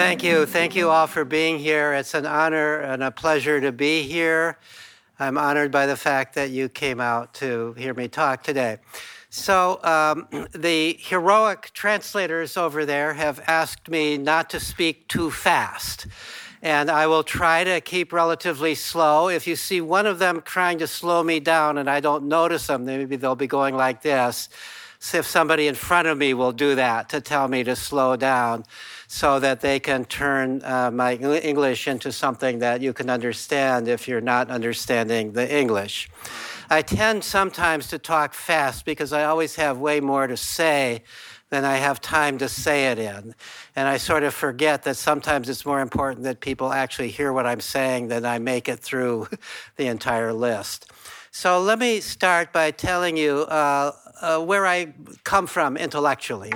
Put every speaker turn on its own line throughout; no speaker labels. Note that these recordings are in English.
Thank you. Thank you all for being here. It's an honor and a pleasure to be here. I'm honored by the fact that you came out to hear me talk today. So the heroic translators over there have asked me not to speak too fast. And I will try to keep relatively slow. If you see one of them trying to slow me down and I don't notice them, maybe they'll be going like this. So if somebody in front of me will do that to tell me to slow down so that they can turn my English into something that you can understand if you're not understanding the English. I tend sometimes to talk fast because I always have way more to say than I have time to say it in. And I sort of forget that sometimes it's more important that people actually hear what I'm saying than I make it through the entire list. So let me start by telling you where I come from intellectually.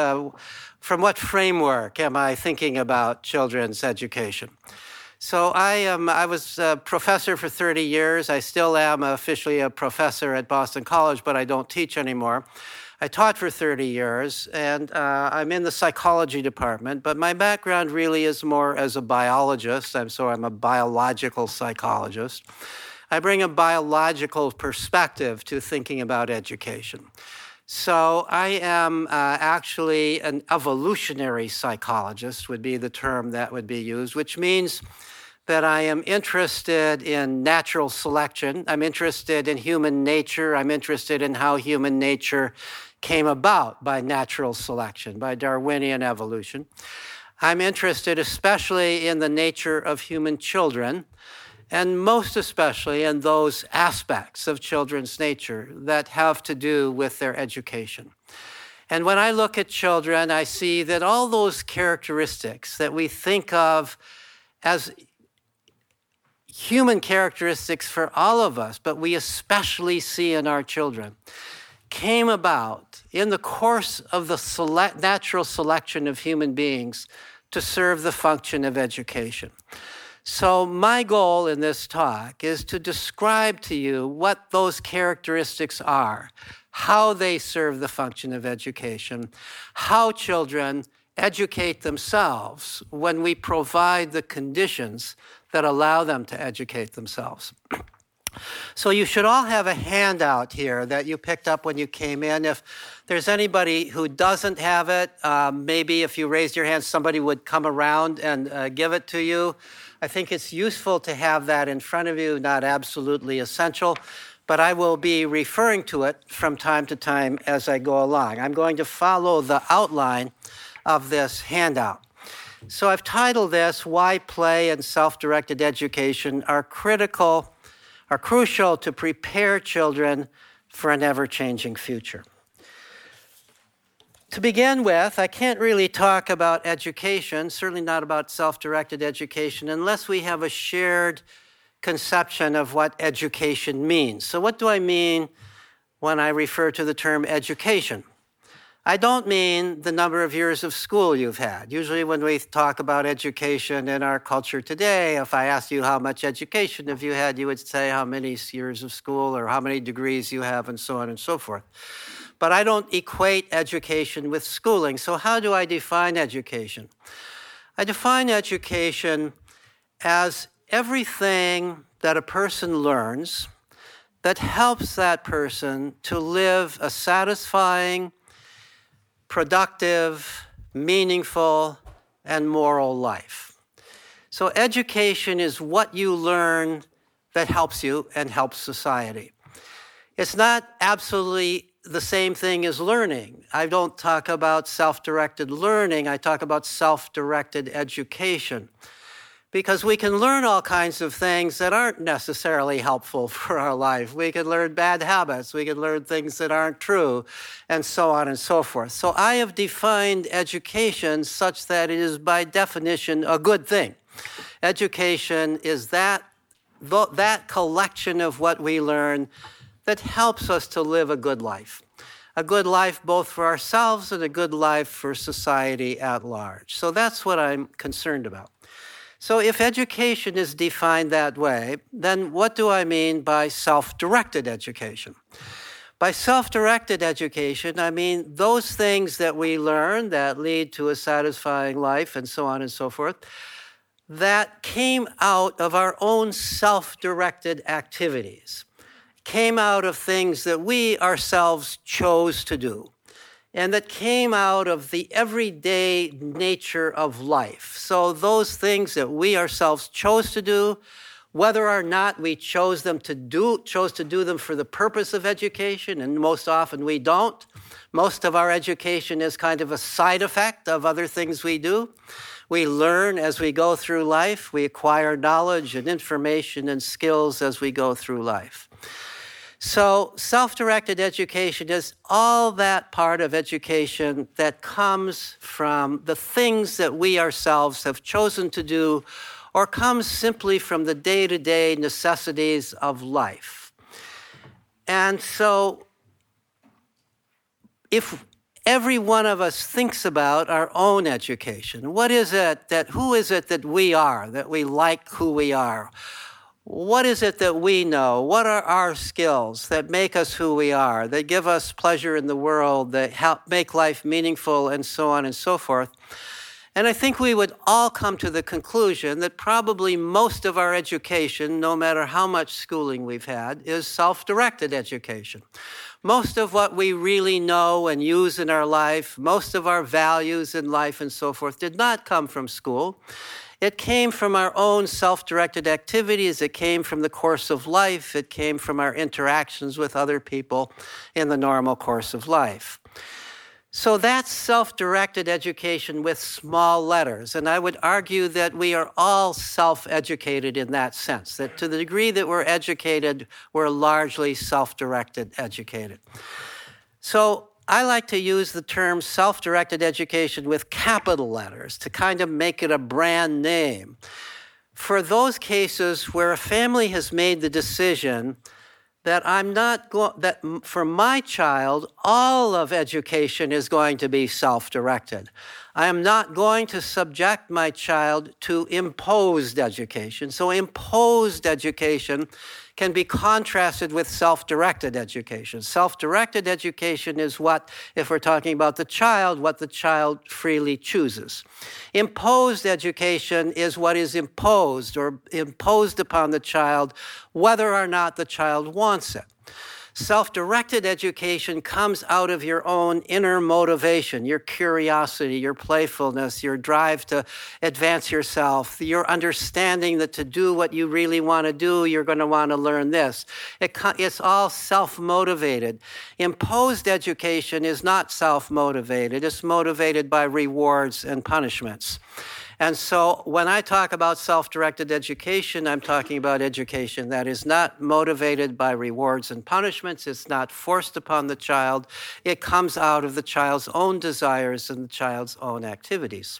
From what framework am I thinking about children's education? So I was a professor for 30 years. I still am officially a professor at Boston College, but I don't teach anymore. I taught for 30 years, and I'm in the psychology department, but my background really is more as a biologist. I'm a biological psychologist. I bring a biological perspective to thinking about education. So I am actually an evolutionary psychologist would be the term that would be used, which means that I am interested in natural selection. I'm interested in human nature. I'm interested in how human nature came about by natural selection, by Darwinian evolution. I'm interested especially in the nature of human children, and most especially in those aspects of children's nature that have to do with their education. And when I look at children, I see that all those characteristics that we think of as human characteristics for all of us, but we especially see in our children, came about in the course of the natural selection of human beings to serve the function of education. So my goal in this talk is to describe to you what those characteristics are, how they serve the function of education, how children educate themselves when we provide the conditions that allow them to educate themselves. So you should all have a handout here that you picked up when you came in. If there's anybody who doesn't have it, maybe if you raised your hand, somebody would come around and give it to you. I think it's useful to have that in front of you, not absolutely essential, but I will be referring to it from time to time as I go along. I'm going to follow the outline of this handout. So I've titled this, Why Play and Self-Directed Education are crucial to prepare children for an ever-changing future. To begin with, I can't really talk about education, certainly not about self-directed education, unless we have a shared conception of what education means. So what do I mean when I refer to the term education? I don't mean the number of years of school you've had. Usually when we talk about education in our culture today, if I asked you how much education have you had, you would say how many years of school or how many degrees you have and so on and so forth. But I don't equate education with schooling. So how do I define education? I define education as everything that a person learns that helps that person to live a satisfying, productive, meaningful, and moral life. So education is what you learn that helps you and helps society. It's not absolutely the same thing as learning. I don't talk about self-directed learning, I talk about self-directed education. Because we can learn all kinds of things that aren't necessarily helpful for our life. We can learn bad habits, we can learn things that aren't true, and so on and so forth. So I have defined education such that it is by definition a good thing. Education is that collection of what we learn that helps us to live a good life. A good life both for ourselves and a good life for society at large. So that's what I'm concerned about. So if education is defined that way, then what do I mean by self-directed education? By self-directed education, I mean those things that we learn that lead to a satisfying life and so on and so forth, that came out of our own self-directed activities, came out of things that we ourselves chose to do, and that came out of the everyday nature of life. So those things that we ourselves chose to do, whether or not we chose to do them for the purpose of education, and most often we don't. Most of our education is kind of a side effect of other things we do. We learn as we go through life. We acquire knowledge and information and skills as we go through life. So self-directed education is all that part of education that comes from the things that we ourselves have chosen to do, or comes simply from the day-to-day necessities of life. And so if every one of us thinks about our own education, who is it that we are, that we like who we are? What is it that we know? What are our skills that make us who we are, that give us pleasure in the world, that help make life meaningful, and so on and so forth? And I think we would all come to the conclusion that probably most of our education, no matter how much schooling we've had, is self-directed education. Most of what we really know and use in our life, most of our values in life and so forth, did not come from school. It came from our own self-directed activities. It came from the course of life. It came from our interactions with other people in the normal course of life. So that's self-directed education with small letters. And I would argue that we are all self-educated in that sense, that to the degree that we're educated, we're largely self-directed educated. So I like to use the term self-directed education with capital letters to kind of make it a brand name. For those cases where a family has made the decision that that for my child, all of education is going to be self-directed. I am not going to subject my child to imposed education. So imposed education can be contrasted with self-directed education. Self-directed education is what, if we're talking about the child, what the child freely chooses. Imposed education is what is imposed or imposed upon the child, whether or not the child wants it. Self-directed education comes out of your own inner motivation, your curiosity, your playfulness, your drive to advance yourself, your understanding that to do what you really want to do, you're going to want to learn this. It's all self-motivated. Imposed education is not self-motivated. It's motivated by rewards and punishments. And so when I talk about self-directed education, I'm talking about education that is not motivated by rewards and punishments. It's not forced upon the child. It comes out of the child's own desires and the child's own activities.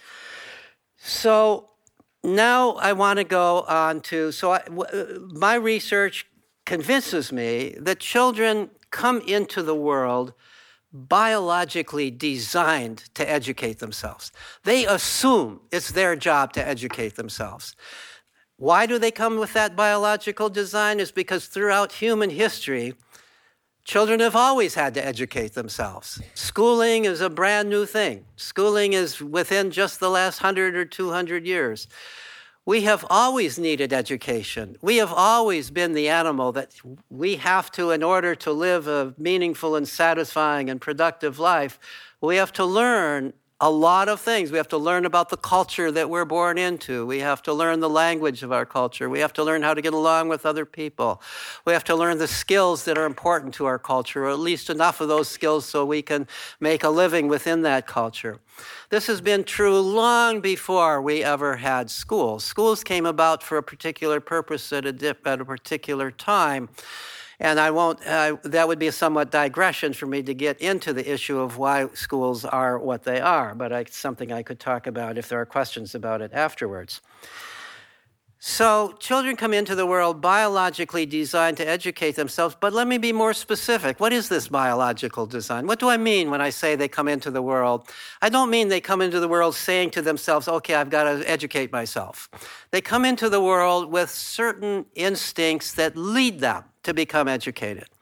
So now I want to go on to, my research convinces me that children come into the world biologically designed to educate themselves. They assume it's their job to educate themselves. Why do they come with that biological design? Is because throughout human history, children have always had to educate themselves. Schooling is a brand new thing. Schooling is within just the last 100 or 200 years. We have always needed education. We have always been the animal that we have to, in order to live a meaningful and satisfying and productive life, we have to learn a lot of things. We have to learn about the culture that we're born into. We have to learn the language of our culture. We have to learn how to get along with other people. We have to learn the skills that are important to our culture, or at least enough of those skills so we can make a living within that culture. This has been true long before we ever had schools. Schools came about for a particular purpose at a particular time. And that would be a somewhat digression for me to get into the issue of why schools are what they are, but it's something I could talk about if there are questions about it afterwards. So children come into the world biologically designed to educate themselves, but let me be more specific. What is this biological design? What do I mean when I say they come into the world? I don't mean they come into the world saying to themselves, okay, I've got to educate myself. They come into the world with certain instincts that lead them to become educated.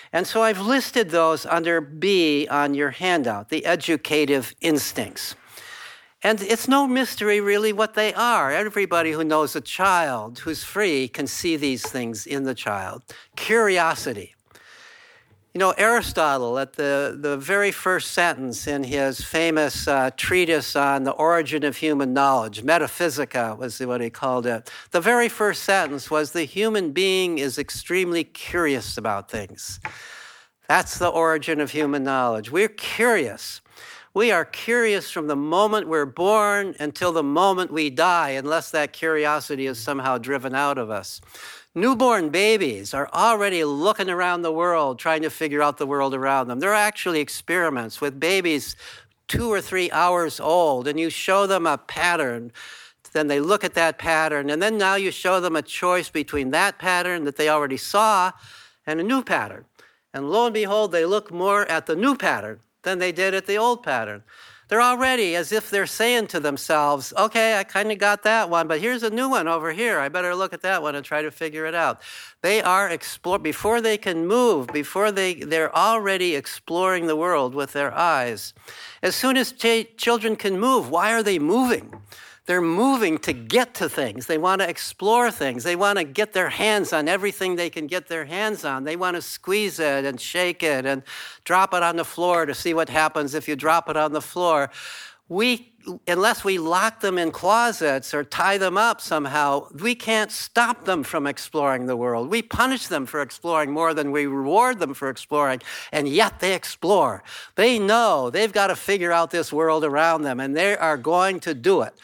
And so I've listed those under B on your handout, the educative instincts. And it's no mystery really what they are. Everybody who knows a child who's free can see these things in the child. Curiosity. You know, Aristotle, at the very first sentence in his famous treatise on the origin of human knowledge, Metaphysica was what he called it, the very first sentence was, the human being is extremely curious about things. That's the origin of human knowledge. We're curious. We are curious from the moment we're born until the moment we die, unless that curiosity is somehow driven out of us. Newborn babies are already looking around the world, trying to figure out the world around them. There are actually experiments with babies 2 or 3 hours old, and you show them a pattern. Then they look at that pattern, and then now you show them a choice between that pattern that they already saw and a new pattern. And lo and behold, they look more at the new pattern than they did at the old pattern. They're already as if they're saying to themselves, okay, I kind of got that one, but here's a new one over here. I better look at that one and try to figure it out. They are before they can move, before they're already exploring the world with their eyes. As soon as children can move, why are they moving? They're moving to get to things. They want to explore things. They want to get their hands on everything they can get their hands on. They want to squeeze it and shake it and drop it on the floor to see what happens if you drop it on the floor. Unless we lock them in closets or tie them up somehow, we can't stop them from exploring the world. We punish them for exploring more than we reward them for exploring, and yet they explore. They know they've got to figure out this world around them, and they are going to do it.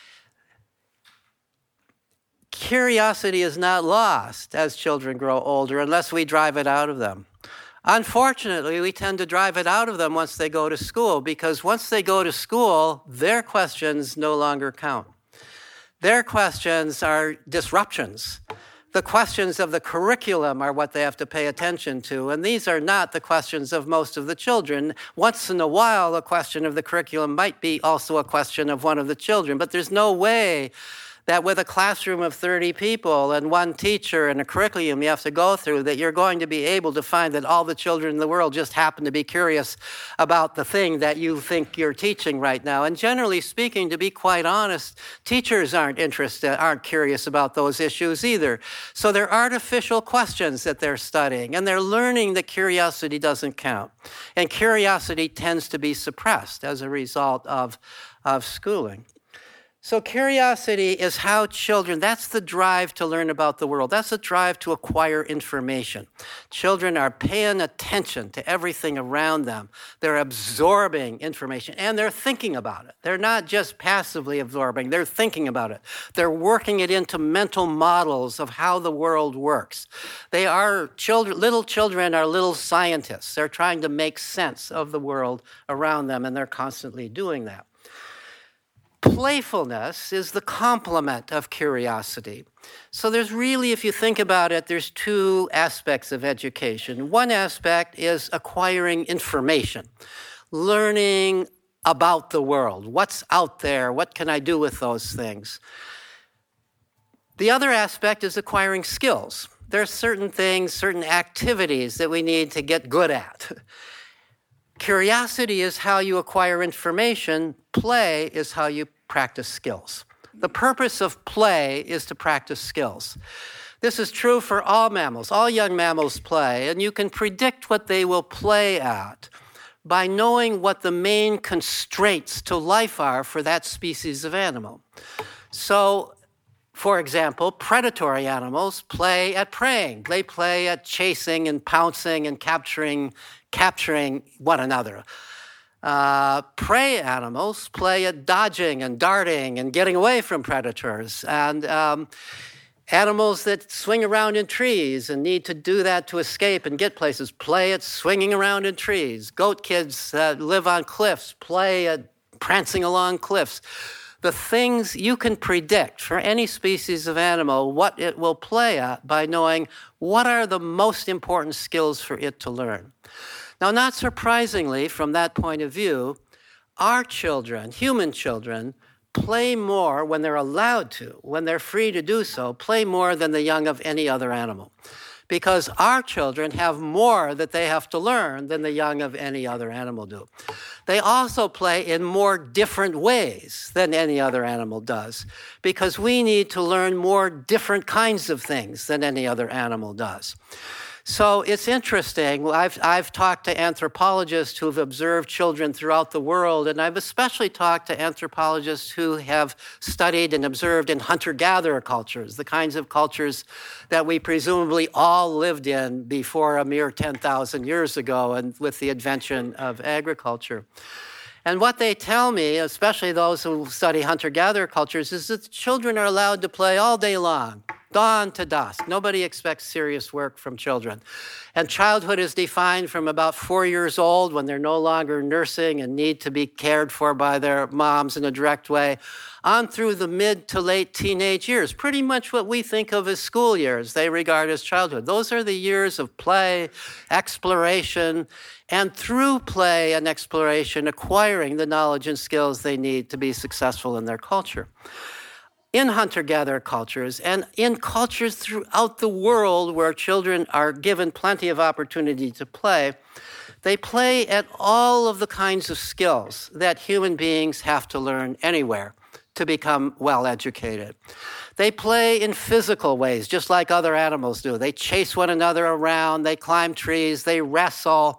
Curiosity is not lost as children grow older unless we drive it out of them. Unfortunately, we tend to drive it out of them once they go to school, because once they go to school, their questions no longer count. Their questions are disruptions. The questions of the curriculum are what they have to pay attention to, and these are not the questions of most of the children. Once in a while, a question of the curriculum might be also a question of one of the children, but there's no way that with a classroom of 30 people and one teacher and a curriculum you have to go through, that you're going to be able to find that all the children in the world just happen to be curious about the thing that you think you're teaching right now. And generally speaking, to be quite honest, teachers aren't curious about those issues either. So they're artificial questions that they're studying, and they're learning that curiosity doesn't count. And curiosity tends to be suppressed as a result of schooling. So curiosity is how children, that's the drive to learn about the world. That's the drive to acquire information. Children are paying attention to everything around them. They're absorbing information, and they're thinking about it. They're not just passively absorbing, they're thinking about it. They're working it into mental models of how the world works. They are little children are little scientists. They're trying to make sense of the world around them, and they're constantly doing that. Playfulness is the complement of curiosity. So there's really, if you think about it, there's 2 aspects of education. One aspect is acquiring information, learning about the world. What's out there? What can I do with those things? The other aspect is acquiring skills. There are certain things, certain activities that we need to get good at. Curiosity is how you acquire information. Play is how you practice skills. The purpose of play is to practice skills. This is true for all mammals. All young mammals play, and you can predict what they will play at by knowing what the main constraints to life are for that species of animal. So, for example, predatory animals play at preying. They play at chasing and pouncing and capturing one another. Prey animals play at dodging and darting and getting away from predators. And animals that swing around in trees and need to do that to escape and get places play at swinging around in trees. Goat kids that live on cliffs play at prancing along cliffs. The things you can predict for any species of animal, what it will play at by knowing what are the most important skills for it to learn. Now, not surprisingly, from that point of view, our children, human children, play more when they're allowed to, when they're free to do so, play more than the young of any other animal. because our children have more that they have to learn than the young of any other animal do. They also play in more different ways than any other animal does, because we need to learn more different kinds of things than any other animal does. So it's interesting. I've talked to anthropologists who've observed children throughout the world, and I've especially talked to anthropologists who have studied and observed in hunter-gatherer cultures, the kinds of cultures that we presumably all lived in before a mere 10,000 years ago and with the invention of agriculture. And what they tell me, especially those who study hunter-gatherer cultures, is that children are allowed to play all day long, dawn to dusk. Nobody expects serious work from children. And childhood is defined from about 4 years old, when they're no longer nursing and need to be cared for by their moms in a direct way, on through the mid to late teenage years, pretty much what we think of as school years, they regard as childhood. Those are the years of play, exploration, and through play and exploration, acquiring the knowledge and skills they need to be successful in their culture. In hunter-gatherer cultures and in cultures throughout the world where children are given plenty of opportunity to play, they play at all of the kinds of skills that human beings have to learn anywhere to become well-educated. They play in physical ways, just like other animals do. They chase one another around, they climb trees, they wrestle.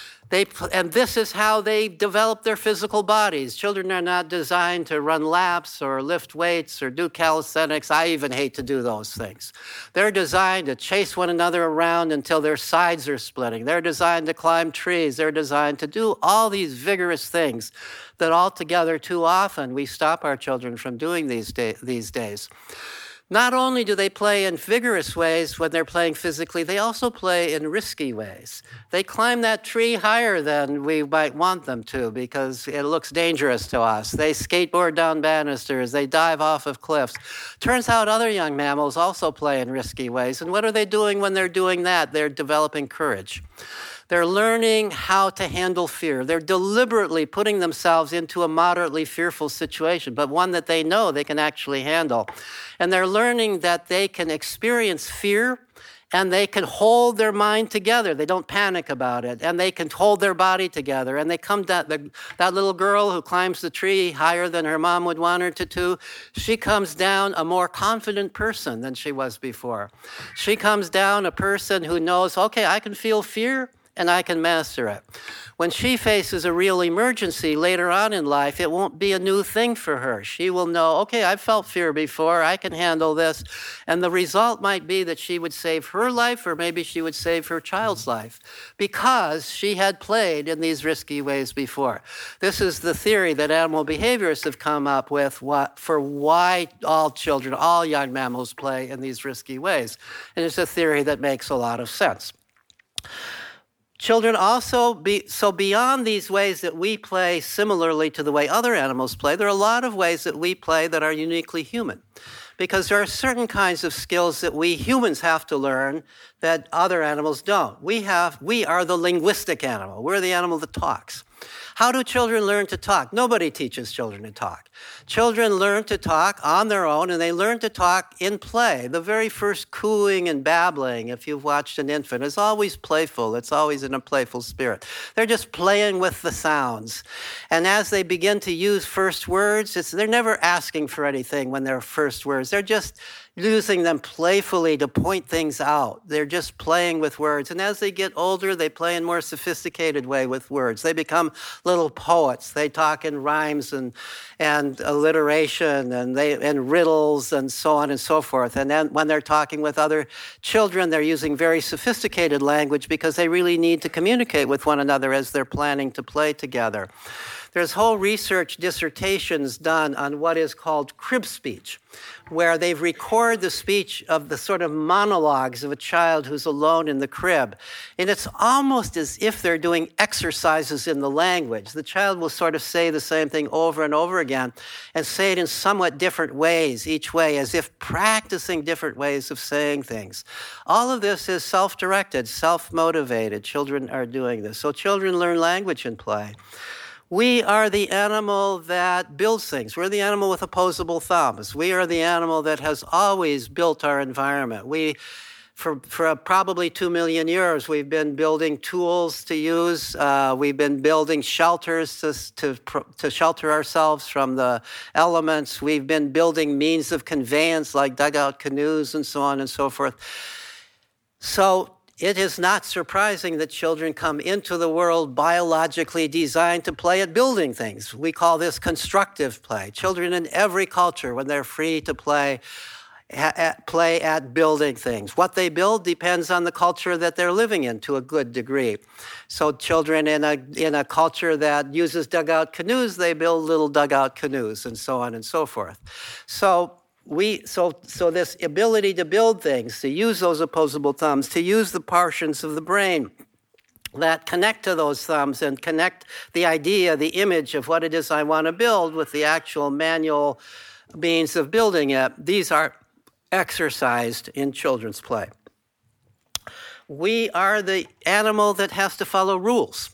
And this is how they develop their physical bodies. Children are not designed to run laps or lift weights or do calisthenics. I even hate to do those things. They're designed to chase one another around until their sides are splitting. They're designed to climb trees. They're designed to do all these vigorous things that altogether too often we stop our children from doing these days. Not only do they play in vigorous ways when they're playing physically, they also play in risky ways. They climb that tree higher than we might want them to because it looks dangerous to us. They skateboard down banisters. They dive off of cliffs. Turns out other young mammals also play in risky ways. And what are they doing when they're doing that? They're developing courage. They're learning how to handle fear. They're deliberately putting themselves into a moderately fearful situation, but one that they know they can actually handle. And they're learning that they can experience fear and they can hold their mind together. They don't panic about it. And they can hold their body together. And they come down, that little girl who climbs the tree higher than her mom would want her to do, she comes down a more confident person than she was before. She comes down a person who knows, okay, I can feel fear and I can master it. When she faces a real emergency later on in life, it won't be a new thing for her. She will know, okay, I've felt fear before, I can handle this. And the result might be that she would save her life, or maybe she would save her child's life, because she had played in these risky ways before. This is the theory that animal behaviorists have come up with for why all children, all young mammals play in these risky ways. And it's a theory that makes a lot of sense. Children also, beyond these ways that we play similarly to the way other animals play, there are a lot of ways that we play that are uniquely human. Because there are certain kinds of skills that we humans have to learn that other animals don't. We are the linguistic animal. We're the animal that talks. How do children learn to talk? Nobody teaches children to talk. Children learn to talk on their own, and they learn to talk in play. The very first cooing and babbling, if you've watched an infant, is always playful. It's always in a playful spirit. They're just playing with the sounds. And as they begin to use first words, they're never asking for anything when they're first words. They're just using them playfully to point things out. They're just playing with words. And as they get older, they play in more sophisticated way with words. They become little poets. They talk in rhymes and alliteration and riddles and so on and so forth. And then when they're talking with other children, they're using very sophisticated language because they really need to communicate with one another as they're planning to play together. There's whole research dissertations done on what is called crib speech, where they've recorded the speech of the sort of monologues of a child who's alone in the crib. And it's almost as if they're doing exercises in the language. The child will sort of say the same thing over and over again and say it in somewhat different ways each way, as if practicing different ways of saying things. All of this is self-directed, self-motivated. Children are doing this. So children learn language in play. We are the animal that builds things. We're the animal with opposable thumbs. We are the animal that has always built our environment. We For probably 2 million years, we've been building tools to use. We've been building shelters to shelter ourselves from the elements. We've been building means of conveyance like dugout canoes and so on and so forth. So it is not surprising that children come into the world biologically designed to play at building things. We call this constructive play. Children in every culture, when they're free to play at building things. What they build depends on the culture that they're living in to a good degree. So children in a culture that uses dugout canoes, they build little dugout canoes and so on and so forth. So this ability to build things, to use those opposable thumbs, to use the portions of the brain that connect to those thumbs and connect the idea, the image of what it is I want to build with the actual manual means of building it, these are exercised in children's play. We are the animal that has to follow rules.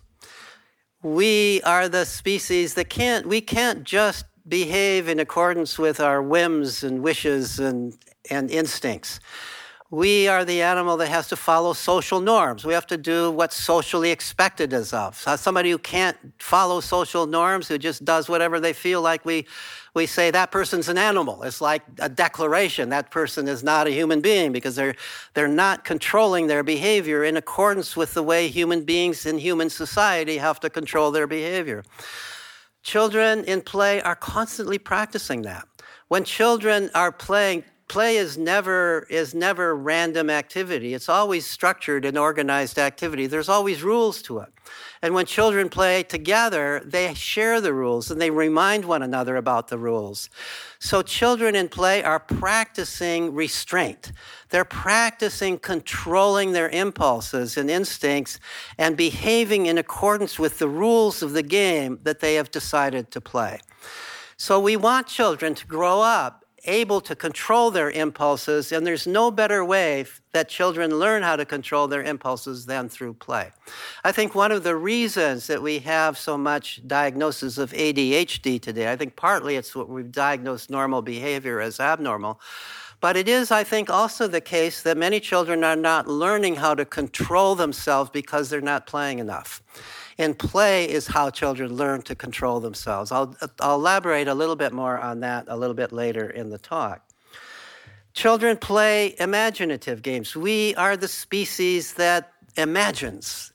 We are the species that we can't just behave in accordance with our whims and wishes and instincts. We are the animal that has to follow social norms. We have to do what's socially expected of us. Somebody who can't follow social norms, who just does whatever they feel like, we say that person's an animal. It's like a declaration. That person is not a human being because they're not controlling their behavior in accordance with the way human beings in human society have to control their behavior. Children in play are constantly practicing that. When children are playing, play is never random activity. It's always structured and organized activity. There's always rules to it. And when children play together, they share the rules and they remind one another about the rules. So children in play are practicing restraint. They're practicing controlling their impulses and instincts and behaving in accordance with the rules of the game that they have decided to play. So we want children to grow up able to control their impulses, and there's no better way that children learn how to control their impulses than through play. I think one of the reasons that we have so much diagnosis of ADHD today, I think partly it's what we've diagnosed normal behavior as abnormal, but it is, I think, also the case that many children are not learning how to control themselves because they're not playing enough. And play is how children learn to control themselves. I'll elaborate a little bit more on that a little bit later in the talk. Children play imaginative games. We are the species that imagines.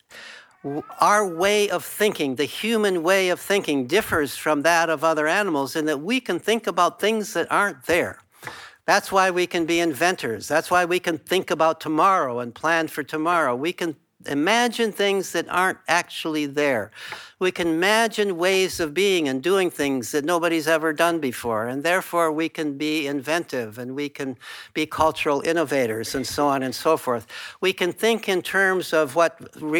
Our way of thinking, the human way of thinking, differs from that of other animals in that we can think about things that aren't there. That's why we can be inventors. That's why we can think about tomorrow and plan for tomorrow. We can imagine things that aren't actually there. We can imagine ways of being and doing things that nobody's ever done before, and therefore we can be inventive and we can be cultural innovators and so on and so forth. We can think in terms of what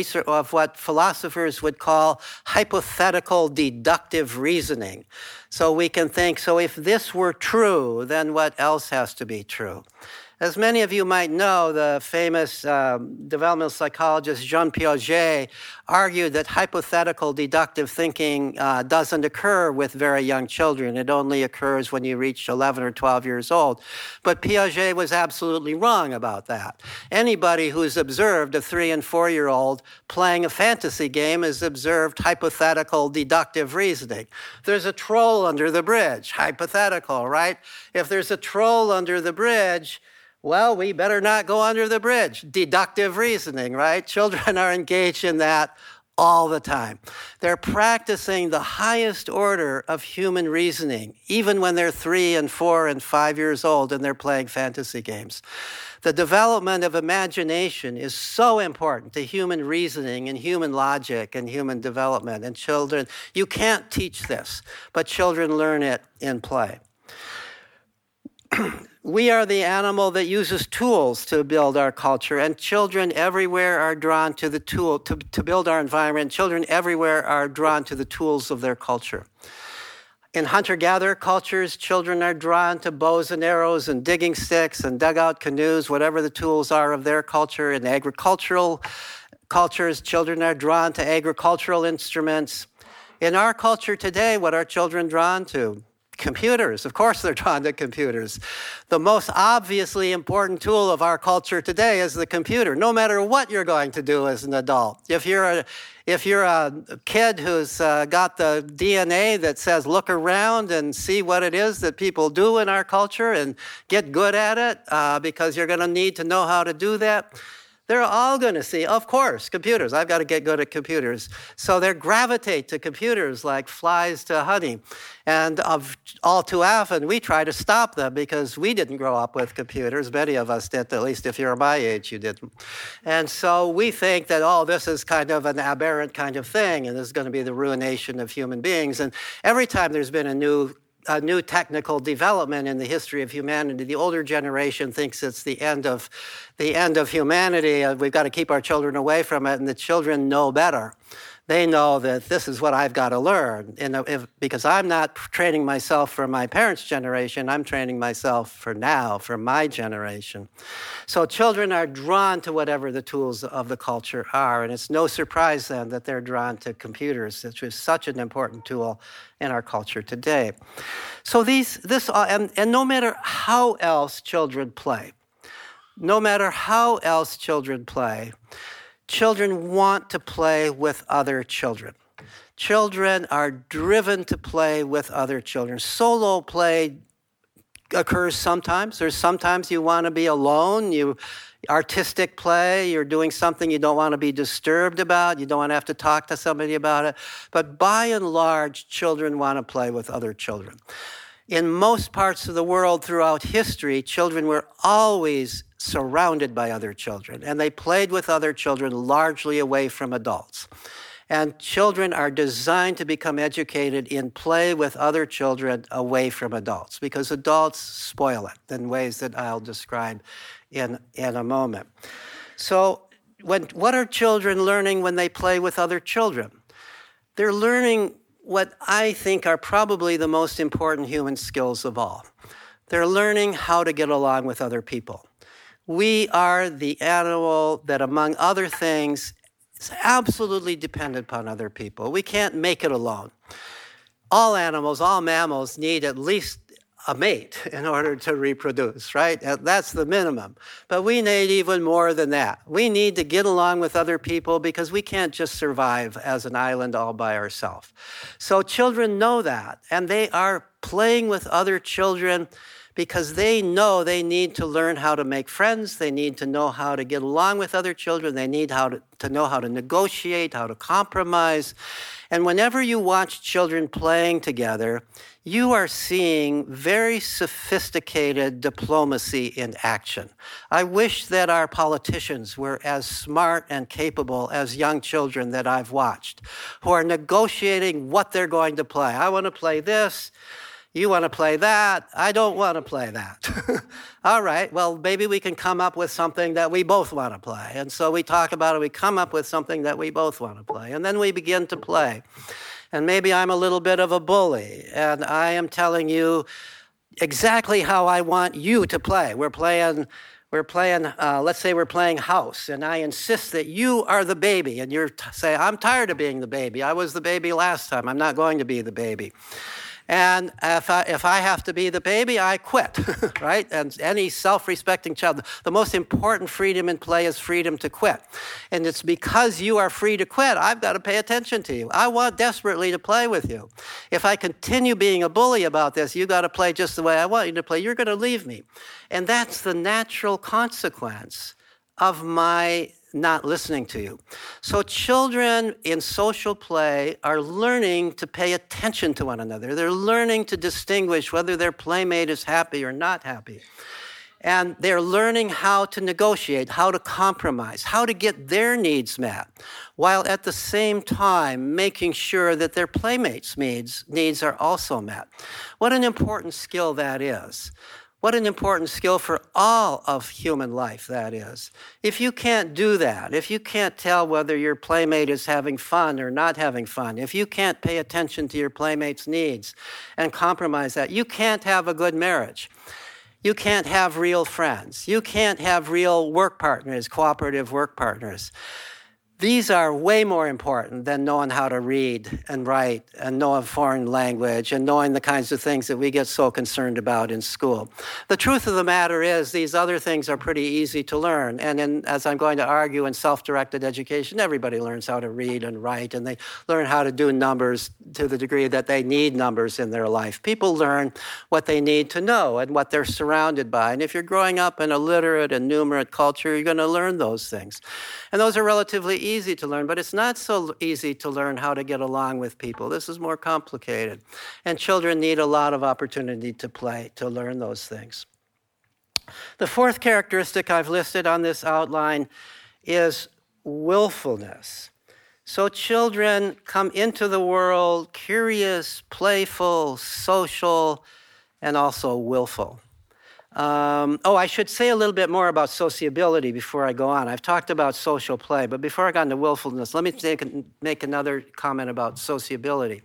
philosophers would call hypothetical deductive reasoning. So we can think, so if this were true, then what else has to be true? As many of you might know, the famous developmental psychologist Jean Piaget argued that hypothetical deductive thinking doesn't occur with very young children. It only occurs when you reach 11 or 12 years old. But Piaget was absolutely wrong about that. Anybody who's observed a 3- and 4-year-old playing a fantasy game has observed hypothetical deductive reasoning. There's a troll under the bridge, hypothetical, right? If there's a troll under the bridge, well, we better not go under the bridge. Deductive reasoning, right? Children are engaged in that all the time. They're practicing the highest order of human reasoning, even when they're 3 and 4 and 5 years old and they're playing fantasy games. The development of imagination is so important to human reasoning and human logic and human development. And children, you can't teach this, but children learn it in play. We are the animal that uses tools to build our culture, and children everywhere are drawn to the tool to build our environment. Children everywhere are drawn to the tools of their culture. In hunter-gatherer cultures, children are drawn to bows and arrows and digging sticks and dugout canoes, whatever the tools are of their culture. In agricultural cultures, children are drawn to agricultural instruments. In our culture today, what are children drawn to? Computers. Of course they're drawn to computers. The most obviously important tool of our culture today is the computer, no matter what you're going to do as an adult. If you're a kid who's got the DNA that says look around and see what it is that people do in our culture and get good at it, because you're going to need to know how to do that, they're all going to see, of course, computers. I've got to get good at computers. So they gravitate to computers like flies to honey. And all too often, we try to stop them because we didn't grow up with computers. Many of us did, at least if you're my age, you didn't. And so we think that, oh, this is kind of an aberrant kind of thing, and this is going to be the ruination of human beings. And every time there's been a new technical development in the history of humanity, the older generation thinks it's the end of humanity. We've got to keep our children away from it, and the children know better. They know that this is what I've got to learn, because I'm not training myself for my parents' generation. I'm training myself for now, for my generation. So children are drawn to whatever the tools of the culture are, and it's no surprise then that they're drawn to computers, which is such an important tool in our culture today. So and no matter how else children play, children want to play with other children. Children are driven to play with other children. Solo play occurs sometimes. There's sometimes you want to be alone. Artistic play, you're doing something you don't want to be disturbed about. You don't want to have to talk to somebody about it. But by and large, children want to play with other children. In most parts of the world throughout history, children were always surrounded by other children, and they played with other children largely away from adults. And children are designed to become educated in play with other children away from adults, because adults spoil it in ways that I'll describe in a moment. So what are children learning when they play with other children? They're learning what I think are probably the most important human skills of all. They're learning how to get along with other people. We are the animal that, among other things, is absolutely dependent upon other people. We can't make it alone. All animals, all mammals need at least a mate in order to reproduce, right? That's the minimum. But we need even more than that. We need to get along with other people because we can't just survive as an island all by ourselves. So children know that, and they are playing with other children because they know they need to learn how to make friends. They need to know how to get along with other children. They need to know how to negotiate, how to compromise. And whenever you watch children playing together, you are seeing very sophisticated diplomacy in action. I wish that our politicians were as smart and capable as young children that I've watched, who are negotiating what they're going to play. I want to play this. You want to play that. I don't want to play that. All right, well, maybe we can come up with something that we both want to play. And so we talk about it. We come up with something that we both want to play. And then we begin to play. And maybe I'm a little bit of a bully, and I am telling you exactly how I want you to play. We're playing, let's say we're playing house, and I insist that you are the baby, and you're saying, I'm tired of being the baby. I was the baby last time. I'm not going to be the baby. And if I have to be the baby, I quit, right? And any self-respecting child, the most important freedom in play is freedom to quit. And it's because you are free to quit, I've got to pay attention to you. I want desperately to play with you. If I continue being a bully about this, you got to play just the way I want you to play, you're going to leave me. And that's the natural consequence of my not listening to you. So children in social play are learning to pay attention to one another. They're learning to distinguish whether their playmate is happy or not happy. And they're learning how to negotiate, how to compromise, how to get their needs met, while at the same time making sure that their playmates' needs are also met. What an important skill that is. What an important skill for all of human life that is. If you can't do that, if you can't tell whether your playmate is having fun or not having fun, if you can't pay attention to your playmate's needs and compromise that, you can't have a good marriage. You can't have real friends. You can't have real work partners, cooperative work partners. These are way more important than knowing how to read and write and know a foreign language and knowing the kinds of things that we get so concerned about in school. The truth of the matter is these other things are pretty easy to learn. And as I'm going to argue, in self-directed education, everybody learns how to read and write, and they learn how to do numbers to the degree that they need numbers in their life. People learn what they need to know and what they're surrounded by. And if you're growing up in a literate and numerate culture, you're going to learn those things. And those are relatively easy to learn, but it's not so easy to learn how to get along with people. This is more complicated. And children need a lot of opportunity to play, to learn those things. The fourth characteristic I've listed on this outline is willfulness. So children come into the world curious, playful, social, and also willful. I should say a little bit more about sociability before I go on. I've talked about social play, but before I got into willfulness, let me make another comment about sociability.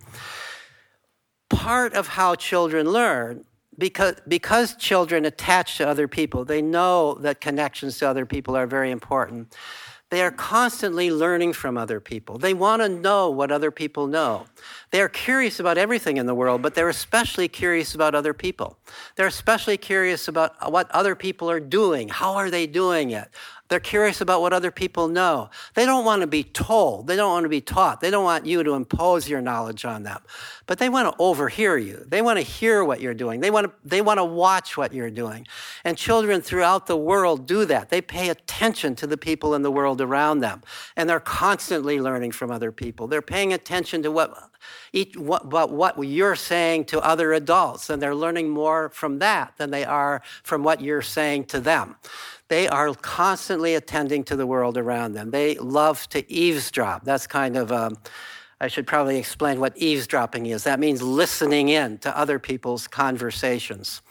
Part of how children learn, because children attach to other people, they know that connections to other people are very important. They are constantly learning from other people. They want to know what other people know. They are curious about everything in the world, but they're especially curious about other people. They're especially curious about what other people are doing. How are they doing it? They're curious about what other people know. They don't want to be told. They don't want to be taught. They don't want you to impose your knowledge on them. But they want to overhear you. They want to hear what you're doing. They want to watch what you're doing. And children throughout the world do that. They pay attention to the people in the world around them. And they're constantly learning from other people. They're paying attention to what you're saying to other adults. And they're learning more from that than they are from what you're saying to them. They are constantly attending to the world around them. They love to eavesdrop. That's kind of, I should probably explain what eavesdropping is. That means listening in to other people's conversations.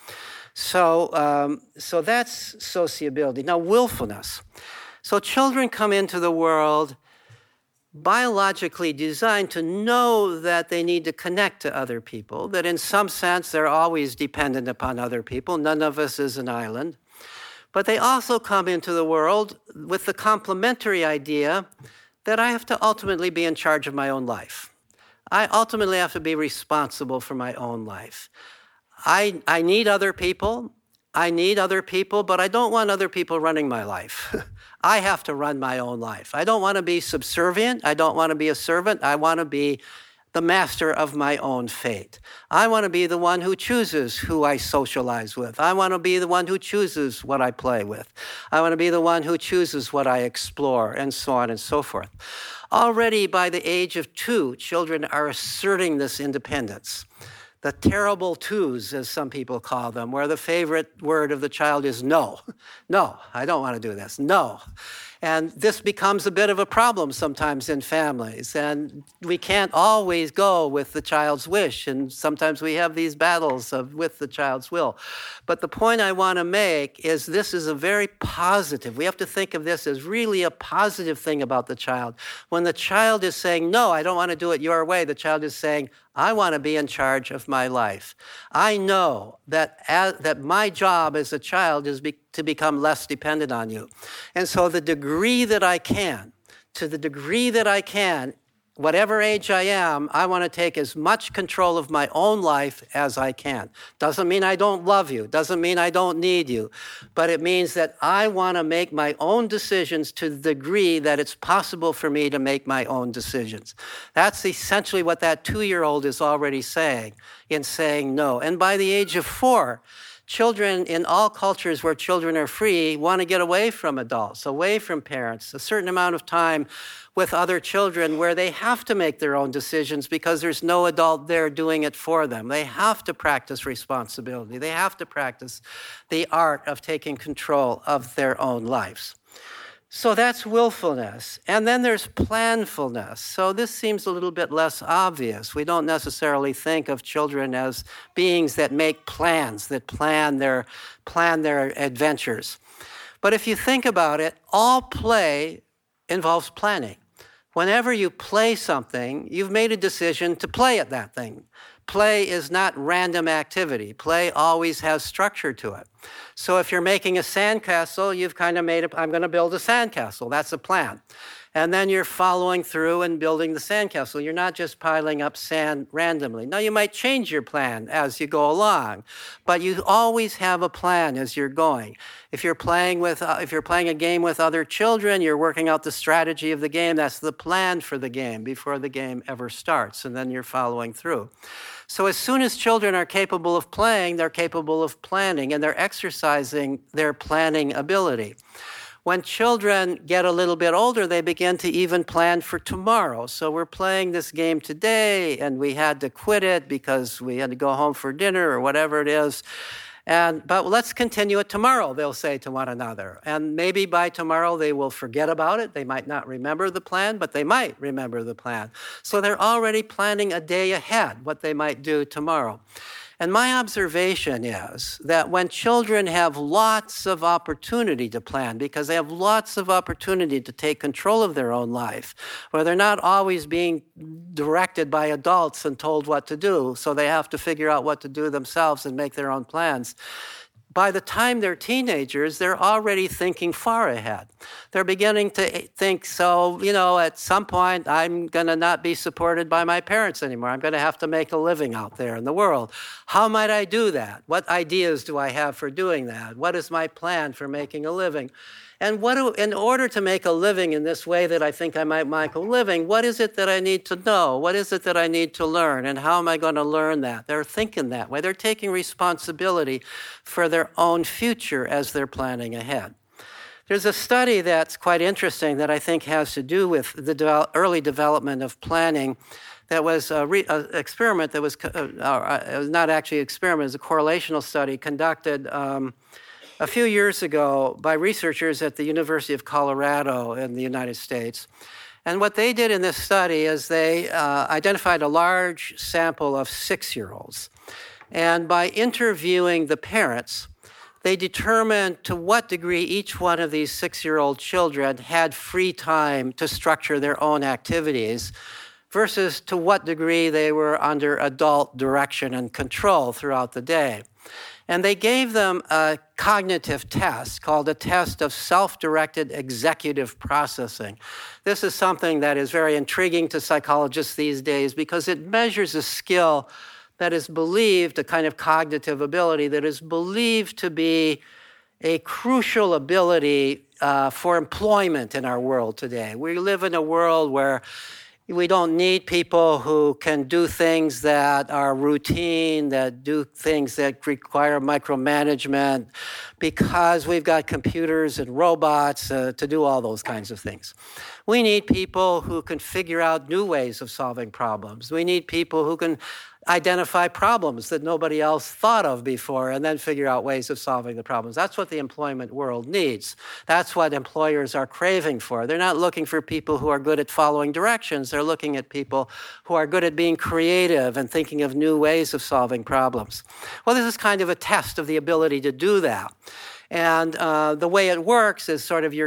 So that's sociability. Now, willfulness. So children come into the world biologically designed to know that they need to connect to other people, that in some sense they're always dependent upon other people. None of us is an island. But they also come into the world with the complementary idea that I have to ultimately be in charge of my own life. I ultimately have to be responsible for my own life. I need other people. But I don't want other people running my life. I have to run my own life. I don't want to be subservient. I don't want to be a servant. I want to be the master of my own fate. I want to be the one who chooses who I socialize with. I want to be the one who chooses what I play with. I want to be the one who chooses what I explore, and so on and so forth. Already by the age of 2, children are asserting this independence. The terrible twos, as some people call them, where the favorite word of the child is no. No, I don't want to do this. No. And this becomes a bit of a problem sometimes in families. And we can't always go with the child's wish. And sometimes we have these battles with the child's will. But the point I want to make is this is a very positive. We have to think of this as really a positive thing about the child. When the child is saying, no, I don't want to do it your way, the child is saying, I want to be in charge of my life. I know that my job as a child is to become less dependent on you. And so to the degree that I can, whatever age I am, I want to take as much control of my own life as I can. Doesn't mean I don't love you. Doesn't mean I don't need you. But it means that I want to make my own decisions to the degree that it's possible for me to make my own decisions. That's essentially what that 2-year-old is already saying in saying no. And by the age of 4, children in all cultures where children are free want to get away from adults, away from parents, a certain amount of time with other children where they have to make their own decisions because there's no adult there doing it for them. They have to practice responsibility. They have to practice the art of taking control of their own lives. So that's willfulness. And then there's planfulness. So this seems a little bit less obvious. We don't necessarily think of children as beings that make plans, that plan their adventures. But if you think about it, all play involves planning. Whenever you play something, you've made a decision to play at that thing. Play is not random activity. Play always has structure to it. So if you're making a sandcastle, you've kind of made I'm going to build a sandcastle. That's a plan. And then you're following through and building the sandcastle. You're not just piling up sand randomly. Now, you might change your plan as you go along, but you always have a plan as you're going. If you're playing a game with other children, you're working out the strategy of the game. That's the plan for the game before the game ever starts, and then you're following through. So as soon as children are capable of playing, they're capable of planning, and they're exercising their planning ability. When children get a little bit older, they begin to even plan for tomorrow. So we're playing this game today, and we had to quit it because we had to go home for dinner or whatever it is. But let's continue it tomorrow, they'll say to one another. And maybe by tomorrow they will forget about it. They might not remember the plan, but they might remember the plan. So they're already planning a day ahead what they might do tomorrow. And my observation is that when children have lots of opportunity to plan, because they have lots of opportunity to take control of their own life, where they're not always being directed by adults and told what to do, so they have to figure out what to do themselves and make their own plans. By the time they're teenagers, they're already thinking far ahead. They're beginning to think, so, at some point, I'm going to not be supported by my parents anymore. I'm going to have to make a living out there in the world. How might I do that? What ideas do I have for doing that? What is my plan for making a living? And in order to make a living in this way that I think I might make a living, what is it that I need to know? What is it that I need to learn? And how am I going to learn that? They're thinking that way. They're taking responsibility for their own future as they're planning ahead. There's a study that's quite interesting that I think has to do with the early development of planning. That was an experiment that was not actually an experiment, it was a correlational study conducted a few years ago by researchers at the University of Colorado in the United States. And what they did in this study is they identified a large sample of 6-year-olds. And by interviewing the parents, they determined to what degree each one of these 6-year-old children had free time to structure their own activities versus to what degree they were under adult direction and control throughout the day. And they gave them a cognitive test called a test of self-directed executive processing. This is something that is very intriguing to psychologists these days because it measures a skill that is believed, a kind of cognitive ability that is believed to be a crucial ability for employment in our world today. We live in a world where we don't need people who can do things that are routine, that do things that require micromanagement, because we've got computers and robots to do all those kinds of things. We need people who can figure out new ways of solving problems. We need people who can identify problems that nobody else thought of before and then figure out ways of solving the problems. That's what the employment world needs. That's what employers are craving for. They're not looking for people who are good at following directions. They're looking at people who are good at being creative and thinking of new ways of solving problems. Well, this is kind of a test of the ability to do that. And the way it works is sort of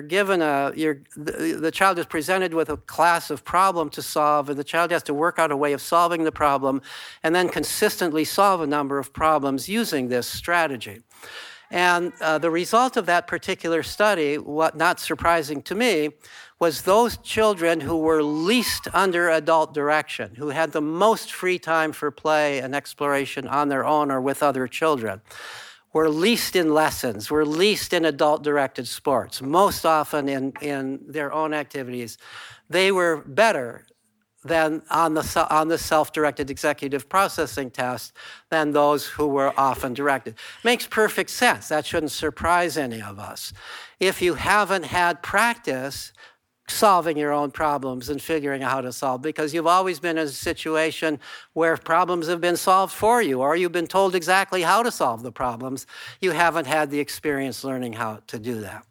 the child is presented with a class of problem to solve, and the child has to work out a way of solving the problem and then consistently solve a number of problems using this strategy. And the result of that particular study, what not surprising to me, was those children who were least under adult direction, who had the most free time for play and exploration on their own or with other children, were least in lessons, were least in adult-directed sports, most often in their own activities. They were better than on the self-directed executive processing test than those who were often directed. Makes perfect sense. That shouldn't surprise any of us. If you haven't had practice solving your own problems and figuring out how to solve, because you've always been in a situation where problems have been solved for you, or you've been told exactly how to solve the problems. You haven't had the experience learning how to do that.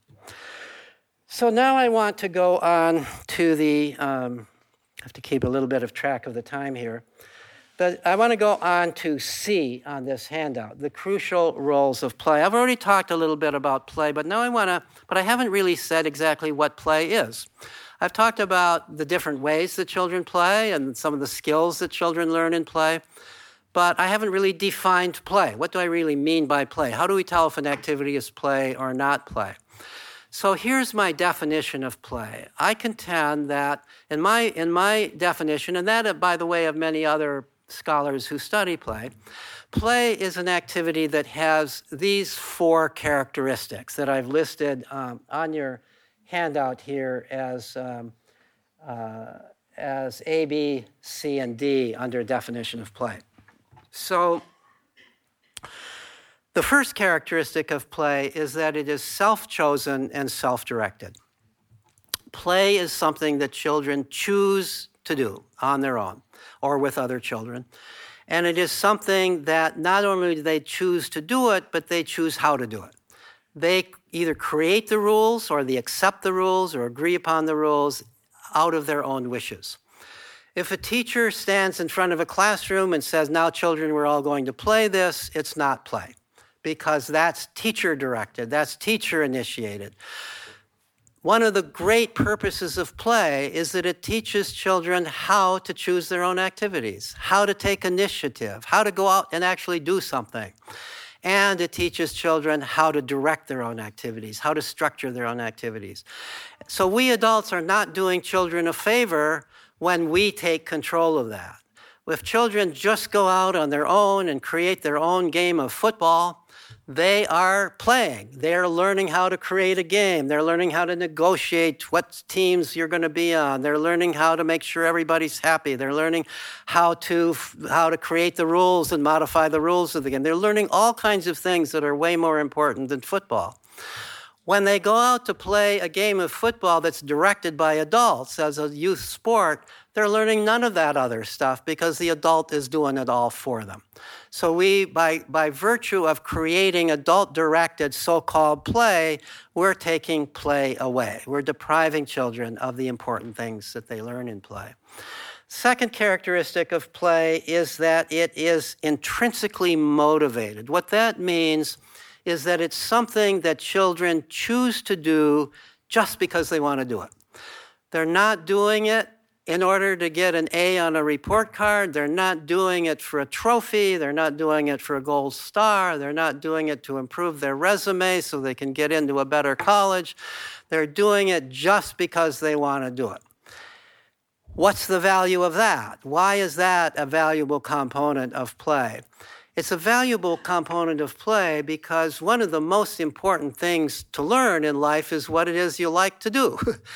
So now I want to go on to I have to keep a little bit of track of the time here. But I want to go on to C on this handout, the crucial roles of play. I've already talked a little bit about play, but now but I haven't really said exactly what play is. I've talked about the different ways that children play and some of the skills that children learn in play, but I haven't really defined play. What do I really mean by play? How do we tell if an activity is play or not play? So here's my definition of play. I contend that in my definition, and that, by the way, of many other scholars who study play, play is an activity that has these 4 characteristics that I've listed on your handout here as A, B, C, and D under definition of play. So the first characteristic of play is that it is self-chosen and self-directed. Play is something that children choose to do on their own or with other children. And it is something that not only do they choose to do it, but they choose how to do it. They either create the rules or they accept the rules or agree upon the rules out of their own wishes. If a teacher stands in front of a classroom and says, now children, we're all going to play this, it's not play, because that's teacher-directed, that's teacher-initiated. One of the great purposes of play is that it teaches children how to choose their own activities, how to take initiative, how to go out and actually do something. And it teaches children how to direct their own activities, how to structure their own activities. So we adults are not doing children a favor when we take control of that. If children just go out on their own and create their own game of football, they are playing. They're learning how to create a game. They're learning how to negotiate what teams you're going to be on. They're learning how to make sure everybody's happy. They're learning how to create the rules and modify the rules of the game. They're learning all kinds of things that are way more important than football. When they go out to play a game of football that's directed by adults as a youth sport, they're learning none of that other stuff because the adult is doing it all for them. So we, by virtue of creating adult-directed so-called play, we're taking play away. We're depriving children of the important things that they learn in play. Second characteristic of play is that it is intrinsically motivated. What that means is that it's something that children choose to do just because they want to do it. They're not doing it in order to get an A on a report card. They're not doing it for a trophy. They're not doing it for a gold star. They're not doing it to improve their resume so they can get into a better college. They're doing it just because they want to do it. What's the value of that? Why is that a valuable component of play? It's a valuable component of play because one of the most important things to learn in life is what it is you like to do.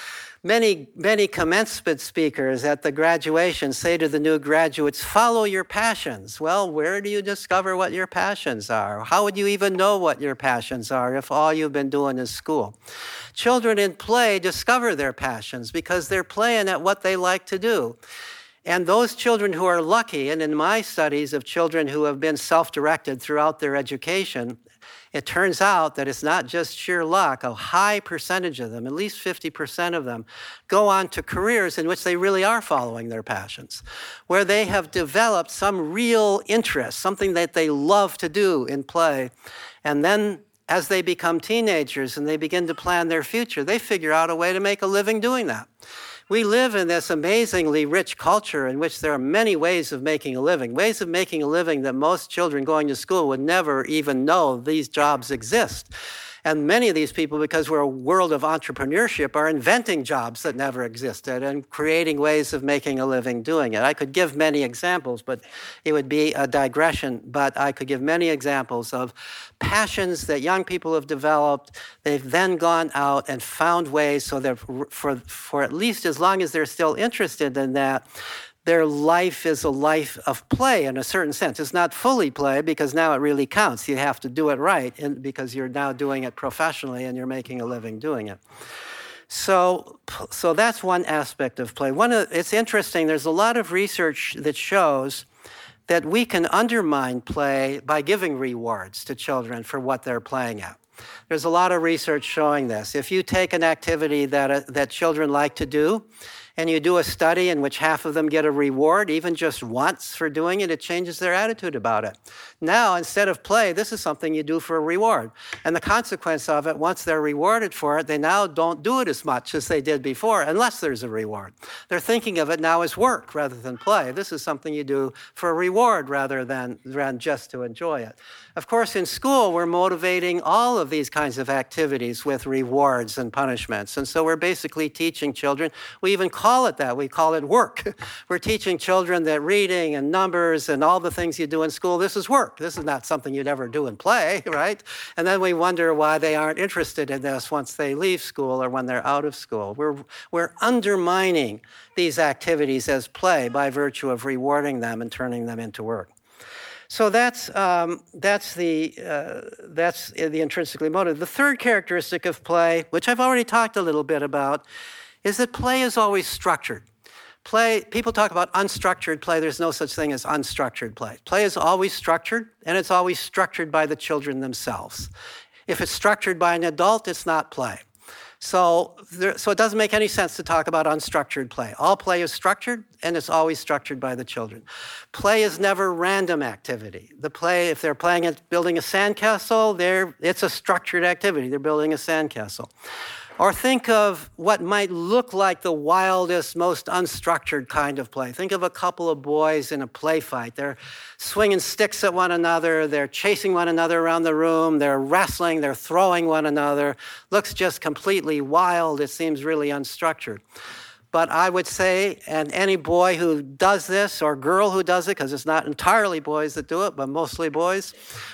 Many commencement speakers at the graduation say to the new graduates, follow your passions. Well, where do you discover what your passions are? How would you even know what your passions are if all you've been doing is school? Children in play discover their passions because they're playing at what they like to do. And those children who are lucky, and in my studies of children who have been self-directed throughout their education, it turns out that it's not just sheer luck. A high percentage of them, at least 50% of them, go on to careers in which they really are following their passions, where they have developed some real interest, something that they love to do in play. And then as they become teenagers and they begin to plan their future, they figure out a way to make a living doing that. We live in this amazingly rich culture in which there are many ways of making a living that most children going to school would never even know these jobs exist. And many of these people, because we're a world of entrepreneurship, are inventing jobs that never existed and creating ways of making a living doing it. I could give many examples, but it would be a digression. But I could give many examples of passions that young people have developed. They've then gone out and found ways so that for at least as long as they're still interested in that, their life is a life of play in a certain sense. It's not fully play because now it really counts. You have to do it right because you're now doing it professionally and you're making a living doing it. So that's one aspect of play. It's interesting, there's a lot of research that shows that we can undermine play by giving rewards to children for what they're playing at. There's a lot of research showing this. If you take an activity that children like to do, and you do a study in which half of them get a reward, even just once for doing it, it changes their attitude about it. Now, instead of play, this is something you do for a reward. And the consequence of it, once they're rewarded for it, they now don't do it as much as they did before, unless there's a reward. They're thinking of it now as work rather than play. This is something you do for a reward rather than just to enjoy it. Of course, in school, we're motivating all of these kinds of activities with rewards and punishments. And so we're basically teaching children, we even call it that, we call it work. We're teaching children that reading and numbers and all the things you do in school, this is work. This is not something you'd ever do in play, right? And then we wonder why they aren't interested in this once they leave school or when they're out of school. We're undermining these activities as play by virtue of rewarding them and turning them into work. So that's the intrinsically motivated. The third characteristic of play, which I've already talked a little bit about, is that play is always structured. People talk about unstructured play. There's no such thing as unstructured play. Play is always structured, and it's always structured by the children themselves. If it's structured by an adult, it's not play. So it doesn't make any sense to talk about unstructured play. All play is structured, and it's always structured by the children. Play is never random activity. If they're building a sandcastle, it's a structured activity. They're building a sandcastle. Or think of what might look like the wildest, most unstructured kind of play. Think of a couple of boys in a play fight. They're swinging sticks at one another. They're chasing one another around the room. They're wrestling. They're throwing one another. Looks just completely wild. It seems really unstructured. But I would say, and any boy who does this or girl who does it, because it's not entirely boys that do it, but mostly boys,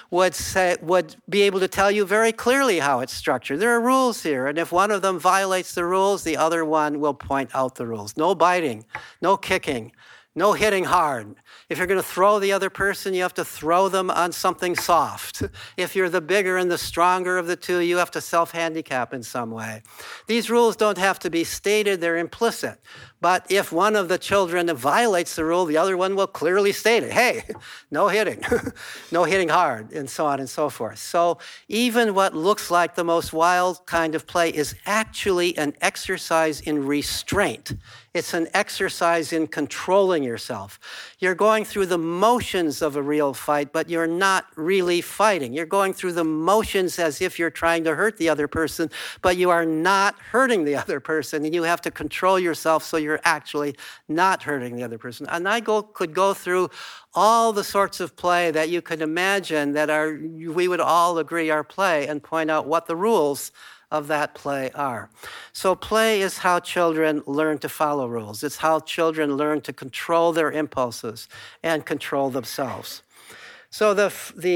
would be able to tell you very clearly how it's structured. There are rules here, and if one of them violates the rules, the other one will point out the rules. No biting, no kicking, no hitting hard. If you're going to throw the other person, you have to throw them on something soft. If you're the bigger and the stronger of the two, you have to self-handicap in some way. These rules don't have to be stated, they're implicit. But if one of the children violates the rule, the other one will clearly state it. Hey, no hitting, no hitting hard, and so on and so forth. So even what looks like the most wild kind of play is actually an exercise in restraint. It's an exercise in controlling yourself. You're going through the motions of a real fight, but you're not really fighting. You're going through the motions as if you're trying to hurt the other person, but you are not hurting the other person, and you have to control yourself so you're actually not hurting the other person. And I could go through all the sorts of play that you could imagine that we would all agree are play and point out what the rules of that play are. So play is how children learn to follow rules. It's how children learn to control their impulses and control themselves. So the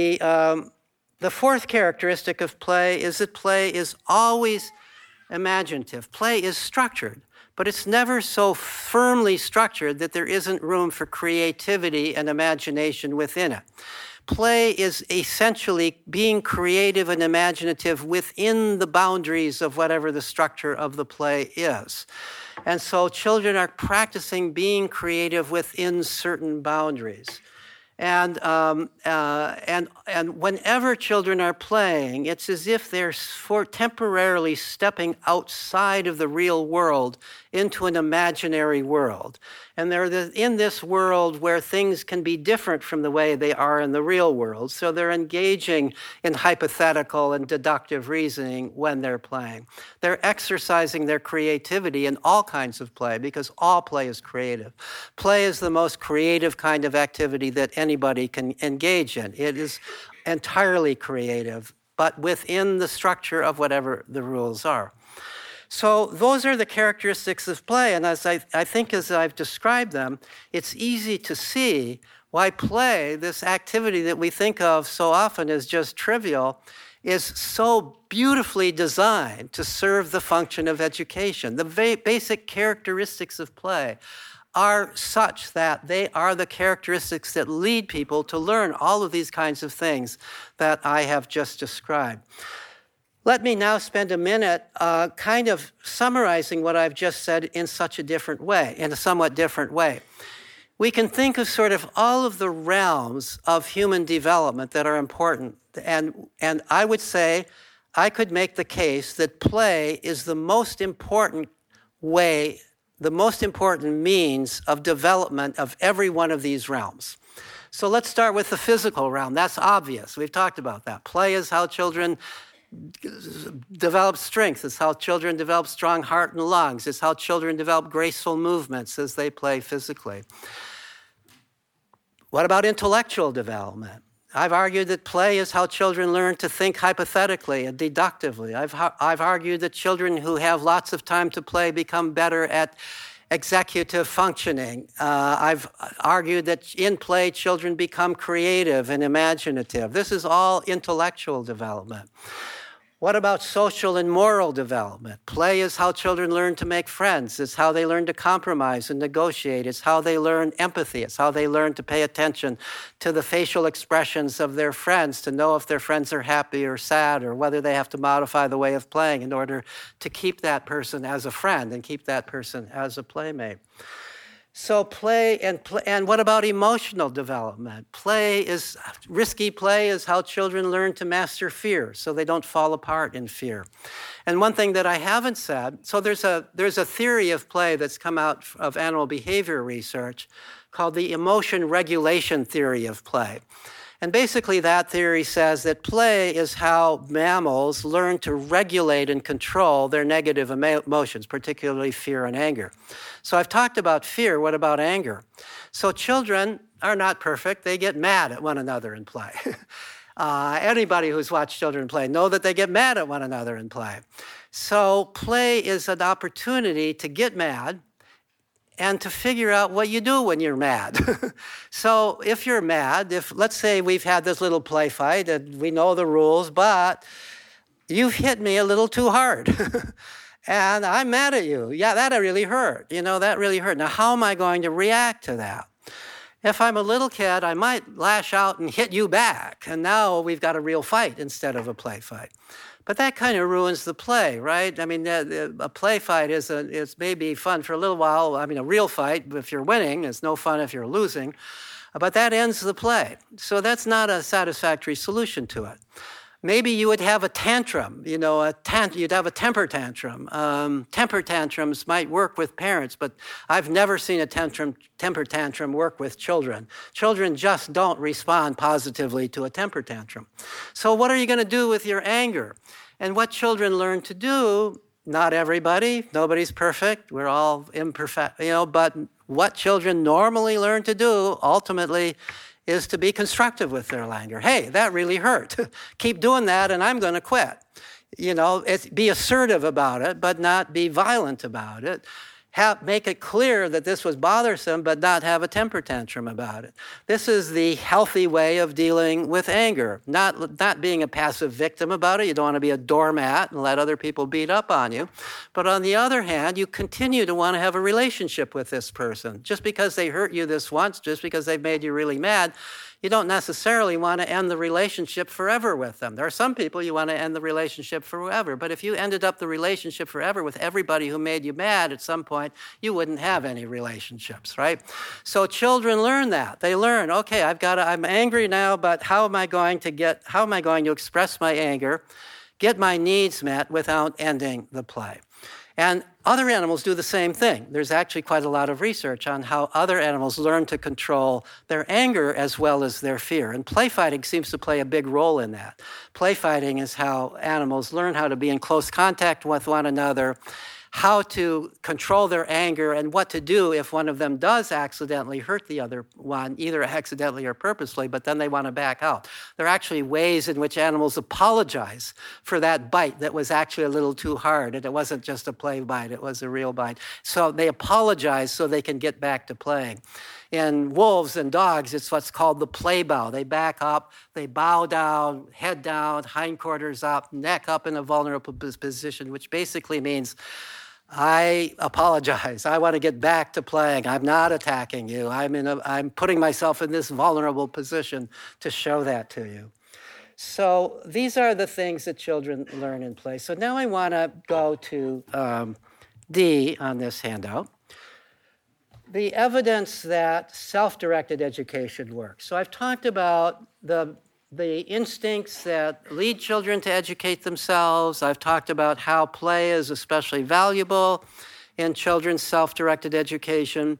fourth characteristic of play is that play is always imaginative. Play is structured, but it's never so firmly structured that there isn't room for creativity and imagination within it. Play is essentially being creative and imaginative within the boundaries of whatever the structure of the play is. And so children are practicing being creative within certain boundaries. And whenever children are playing, it's as if they're temporarily stepping outside of the real world into an imaginary world. And they're in this world where things can be different from the way they are in the real world. So they're engaging in hypothetical and deductive reasoning when they're playing. They're exercising their creativity in all kinds of play because all play is creative. Play is the most creative kind of activity that anybody can engage in. It is entirely creative, but within the structure of whatever the rules are. So those are the characteristics of play, and as I think as I've described them, it's easy to see why play, this activity that we think of so often as just trivial, is so beautifully designed to serve the function of education. The basic characteristics of play are such that they are the characteristics that lead people to learn all of these kinds of things that I have just described. Let me now spend a minute kind of summarizing what I've just said in such a different way, in a somewhat different way. We can think of sort of all of the realms of human development that are important. And I would say, I could make the case that play is the most important way the most important means of development of every one of these realms. So let's start with the physical realm. That's obvious. We've talked about that. Play is how children develop strength. It's how children develop strong heart and lungs. It's how children develop graceful movements as they play physically. What about intellectual development? I've argued that play is how children learn to think hypothetically and deductively. I've argued that children who have lots of time to play become better at executive functioning. I've argued that in play, children become creative and imaginative. This is all intellectual development. What about social and moral development? Play is how children learn to make friends. It's how they learn to compromise and negotiate. It's how they learn empathy. It's how they learn to pay attention to the facial expressions of their friends, to know if their friends are happy or sad, or whether they have to modify the way of playing in order to keep that person as a friend and keep that person as a playmate. So and what about emotional development? Risky play is how children learn to master fear so they don't fall apart in fear. And one thing that I haven't said, so there's a theory of play that's come out of animal behavior research called the emotion regulation theory of play. And basically that theory says that play is how mammals learn to regulate and control their negative emotions, particularly fear and anger. So I've talked about fear. What about anger? So children are not perfect. They get mad at one another in play. Anybody who's watched children play know that they get mad at one another in play. So play is an opportunity to get mad and to figure out what you do when you're mad. So if you're mad, let's say we've had this little play fight and we know the rules, but you've hit me a little too hard. And I'm mad at you. Yeah, that really hurt. That really hurt. Now, how am I going to react to that? If I'm a little kid, I might lash out and hit you back. And now we've got a real fight instead of a play fight. But that kind of ruins the play, right? I mean, a play fight is maybe fun for a little while. I mean, a real fight, if you're winning, is no fun if you're losing. But that ends the play. So that's not a satisfactory solution to it. Maybe you would have a tantrum, you'd have a temper tantrum. Temper tantrums might work with parents, but I've never seen a temper tantrum work with children. Children just don't respond positively to a temper tantrum. So what are you going to do with your anger? And what children learn to do, not everybody, nobody's perfect, we're all imperfect, but what children normally learn to do ultimately is to be constructive with their anger. Hey, that really hurt. Keep doing that and I'm going to quit. Be assertive about it, but not be violent about it. Make it clear that this was bothersome, but not have a temper tantrum about it. This is the healthy way of dealing with anger, not being a passive victim about it. You don't want to be a doormat and let other people beat up on you. But on the other hand, you continue to want to have a relationship with this person. Just because they hurt you this once, just because they've made you really mad, you don't necessarily want to end the relationship forever with them. There are some people you want to end the relationship forever, but if you ended up the relationship forever with everybody who made you mad at some point, you wouldn't have any relationships, right? So children learn that. They learn, okay, I'm angry now, but how am I going to express my anger, get my needs met without ending the play? And other animals do the same thing. There's actually quite a lot of research on how other animals learn to control their anger as well as their fear. And play fighting seems to play a big role in that. Play fighting is how animals learn how to be in close contact with one another, how to control their anger, and what to do if one of them does accidentally hurt the other one, either accidentally or purposely, but then they want to back out. There are actually ways in which animals apologize for that bite that was actually a little too hard, and it wasn't just a play bite, it was a real bite. So they apologize so they can get back to playing. In wolves and dogs, it's what's called the play bow. They back up, they bow down, head down, hindquarters up, neck up in a vulnerable position, which basically means, I apologize. I want to get back to playing. I'm not attacking you. I'm putting myself in this vulnerable position to show that to you. So these are the things that children learn in play. So now I want to go to D on this handout. The evidence that self-directed education works. So I've talked about the instincts that lead children to educate themselves. I've talked about how play is especially valuable in children's self-directed education.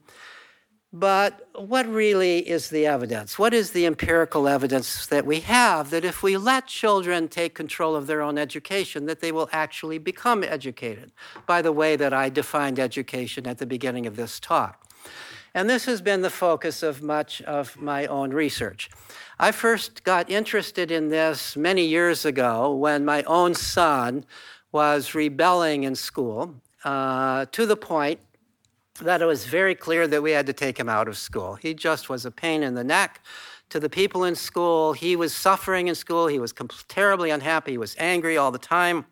But what really is the evidence? What is the empirical evidence that we have that if we let children take control of their own education, that they will actually become educated by the way that I defined education at the beginning of this talk? And this has been the focus of much of my own research. I first got interested in this many years ago when my own son was rebelling in school to the point that it was very clear that we had to take him out of school. He just was a pain in the neck to the people in school. He was suffering in school. He was terribly unhappy. He was angry all the time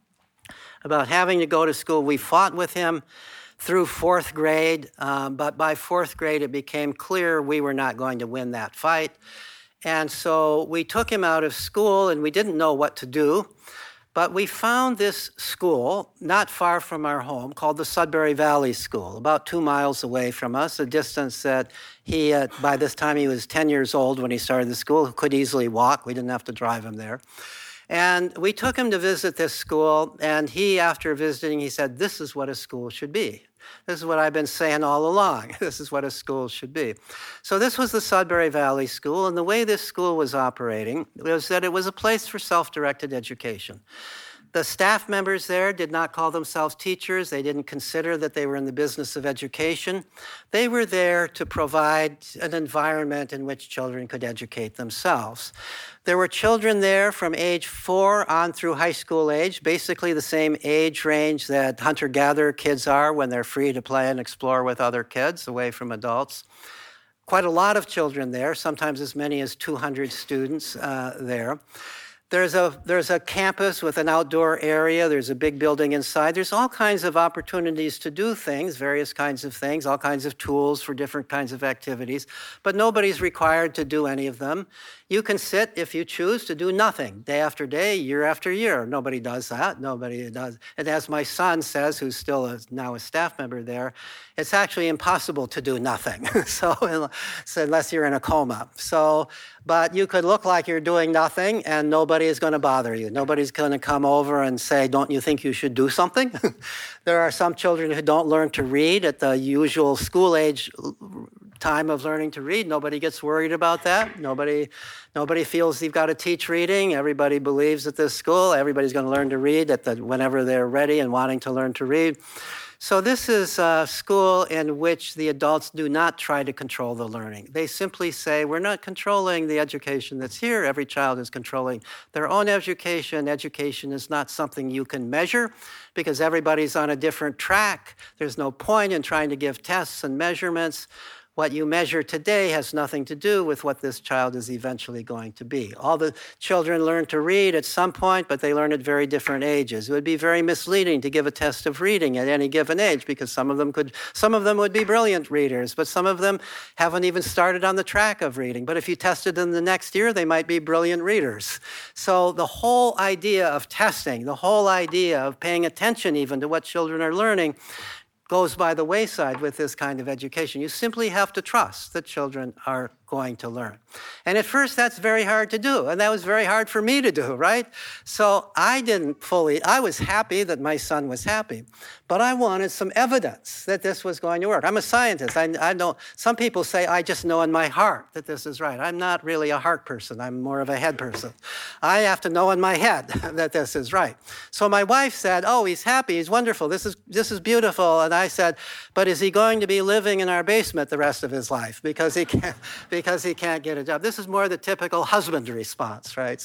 about having to go to school. We fought with him through fourth grade, but by fourth grade it became clear we were not going to win that fight. And so we took him out of school and we didn't know what to do. But we found this school not far from our home called the Sudbury Valley School, about 2 miles away from us, a distance that he, by this time he was 10 years old when he started the school, could easily walk. We didn't have to drive him there. And we took him to visit this school, and he, after visiting, he said, "This is what a school should be. This is what I've been saying all along. This is what a school should be." So this was the Sudbury Valley School, and the way this school was operating was that it was a place for self-directed education. The staff members there did not call themselves teachers. They didn't consider that they were in the business of education. They were there to provide an environment in which children could educate themselves. There were children there from age 4 on through high school age, basically the same age range that hunter-gatherer kids are when they're free to play and explore with other kids away from adults. Quite a lot of children there, sometimes as many as 200 students there. There's a campus with an outdoor area. There's a big building inside. There's all kinds of opportunities to do things, various kinds of things, all kinds of tools for different kinds of activities, but nobody's required to do any of them. You can sit, if you choose, to do nothing, day after day, year after year. Nobody does that. Nobody does. And as my son says, who's still now a staff member there, it's actually impossible to do nothing. So unless you're in a coma. But you could look like you're doing nothing and nobody is going to bother you. Nobody's going to come over and say, "Don't you think you should do something?" There are some children who don't learn to read at the usual school age time of learning to read. Nobody gets worried about that. Nobody feels you've got to teach reading. Everybody believes at this school everybody's going to learn to read whenever they're ready and wanting to learn to read. So this is a school in which the adults do not try to control the learning. They simply say, "We're not controlling the education that's here. Every child is controlling their own education. Education is not something you can measure because everybody's on a different track. There's no point in trying to give tests and measurements. What you measure today has nothing to do with what this child is eventually going to be." All the children learn to read at some point, but they learn at very different ages. It would be very misleading to give a test of reading at any given age because some of them would be brilliant readers, but some of them haven't even started on the track of reading. But if you tested them the next year, they might be brilliant readers. So the whole idea of testing, the whole idea of paying attention even to what children are learning goes by the wayside with this kind of education. You simply have to trust that children are going to learn. And at first, that's very hard to do. And that was very hard for me to do, right? So I was happy that my son was happy, but I wanted some evidence that this was going to work. I'm a scientist. I know, some people say, I just know in my heart that this is right. I'm not really a heart person. I'm more of a head person. I have to know in my head that this is right. So my wife said, "Oh, he's happy. He's wonderful. This is beautiful." And I said, "But is he going to be living in our basement the rest of his life because he can't get a job?" This is more the typical husband response, right?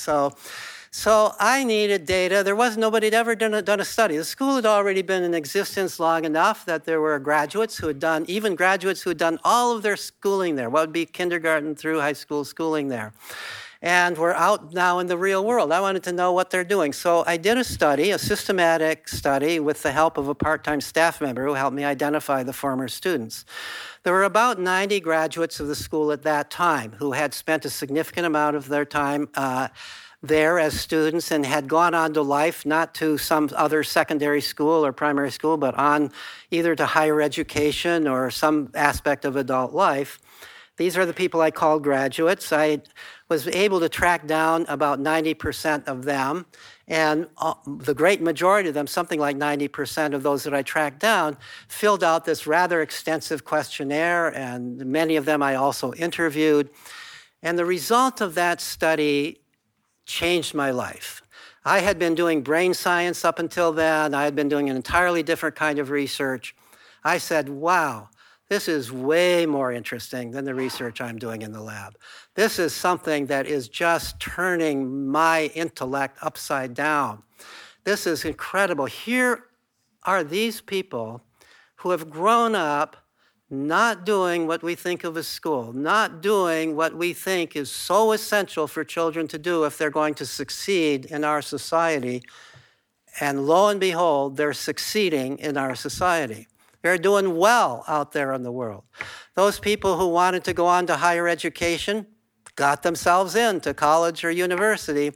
So I needed data. There was nobody had ever done a study. The school had already been in existence long enough that there were graduates who had done all of their schooling there, what would be kindergarten through high school schooling there. And we're out now in the real world. I wanted to know what they're doing. So I did a study, a systematic study, with the help of a part-time staff member who helped me identify the former students. There were about 90 graduates of the school at that time who had spent a significant amount of their time there as students and had gone on to life, not to some other secondary school or primary school, but on either to higher education or some aspect of adult life. These are the people I called graduates. I was able to track down about 90% of them And the great majority of them, something like 90% of those that I tracked down, filled out this rather extensive questionnaire, and many of them I also interviewed. And the result of that study changed my life. I had been doing brain science up until then. I had been doing an entirely different kind of research. I said, wow, this is way more interesting than the research I'm doing in the lab. This is something that is just turning my intellect upside down. This is incredible. Here are these people who have grown up not doing what we think of as school, not doing what we think is so essential for children to do if they're going to succeed in our society. And lo and behold, they're succeeding in our society. They're doing well out there in the world. Those people who wanted to go on to higher education got themselves into college or university.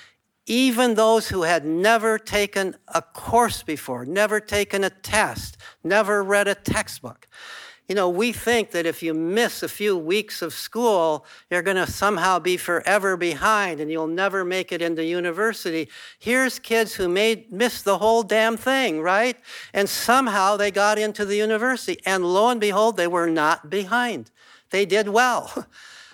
Even those who had never taken a course before, never taken a test, never read a textbook. You know, we think that if you miss a few weeks of school, you're going to somehow be forever behind and you'll never make it into university. Here's kids who missed the whole damn thing, right? And somehow they got into the university. And lo and behold, they were not behind. They did well.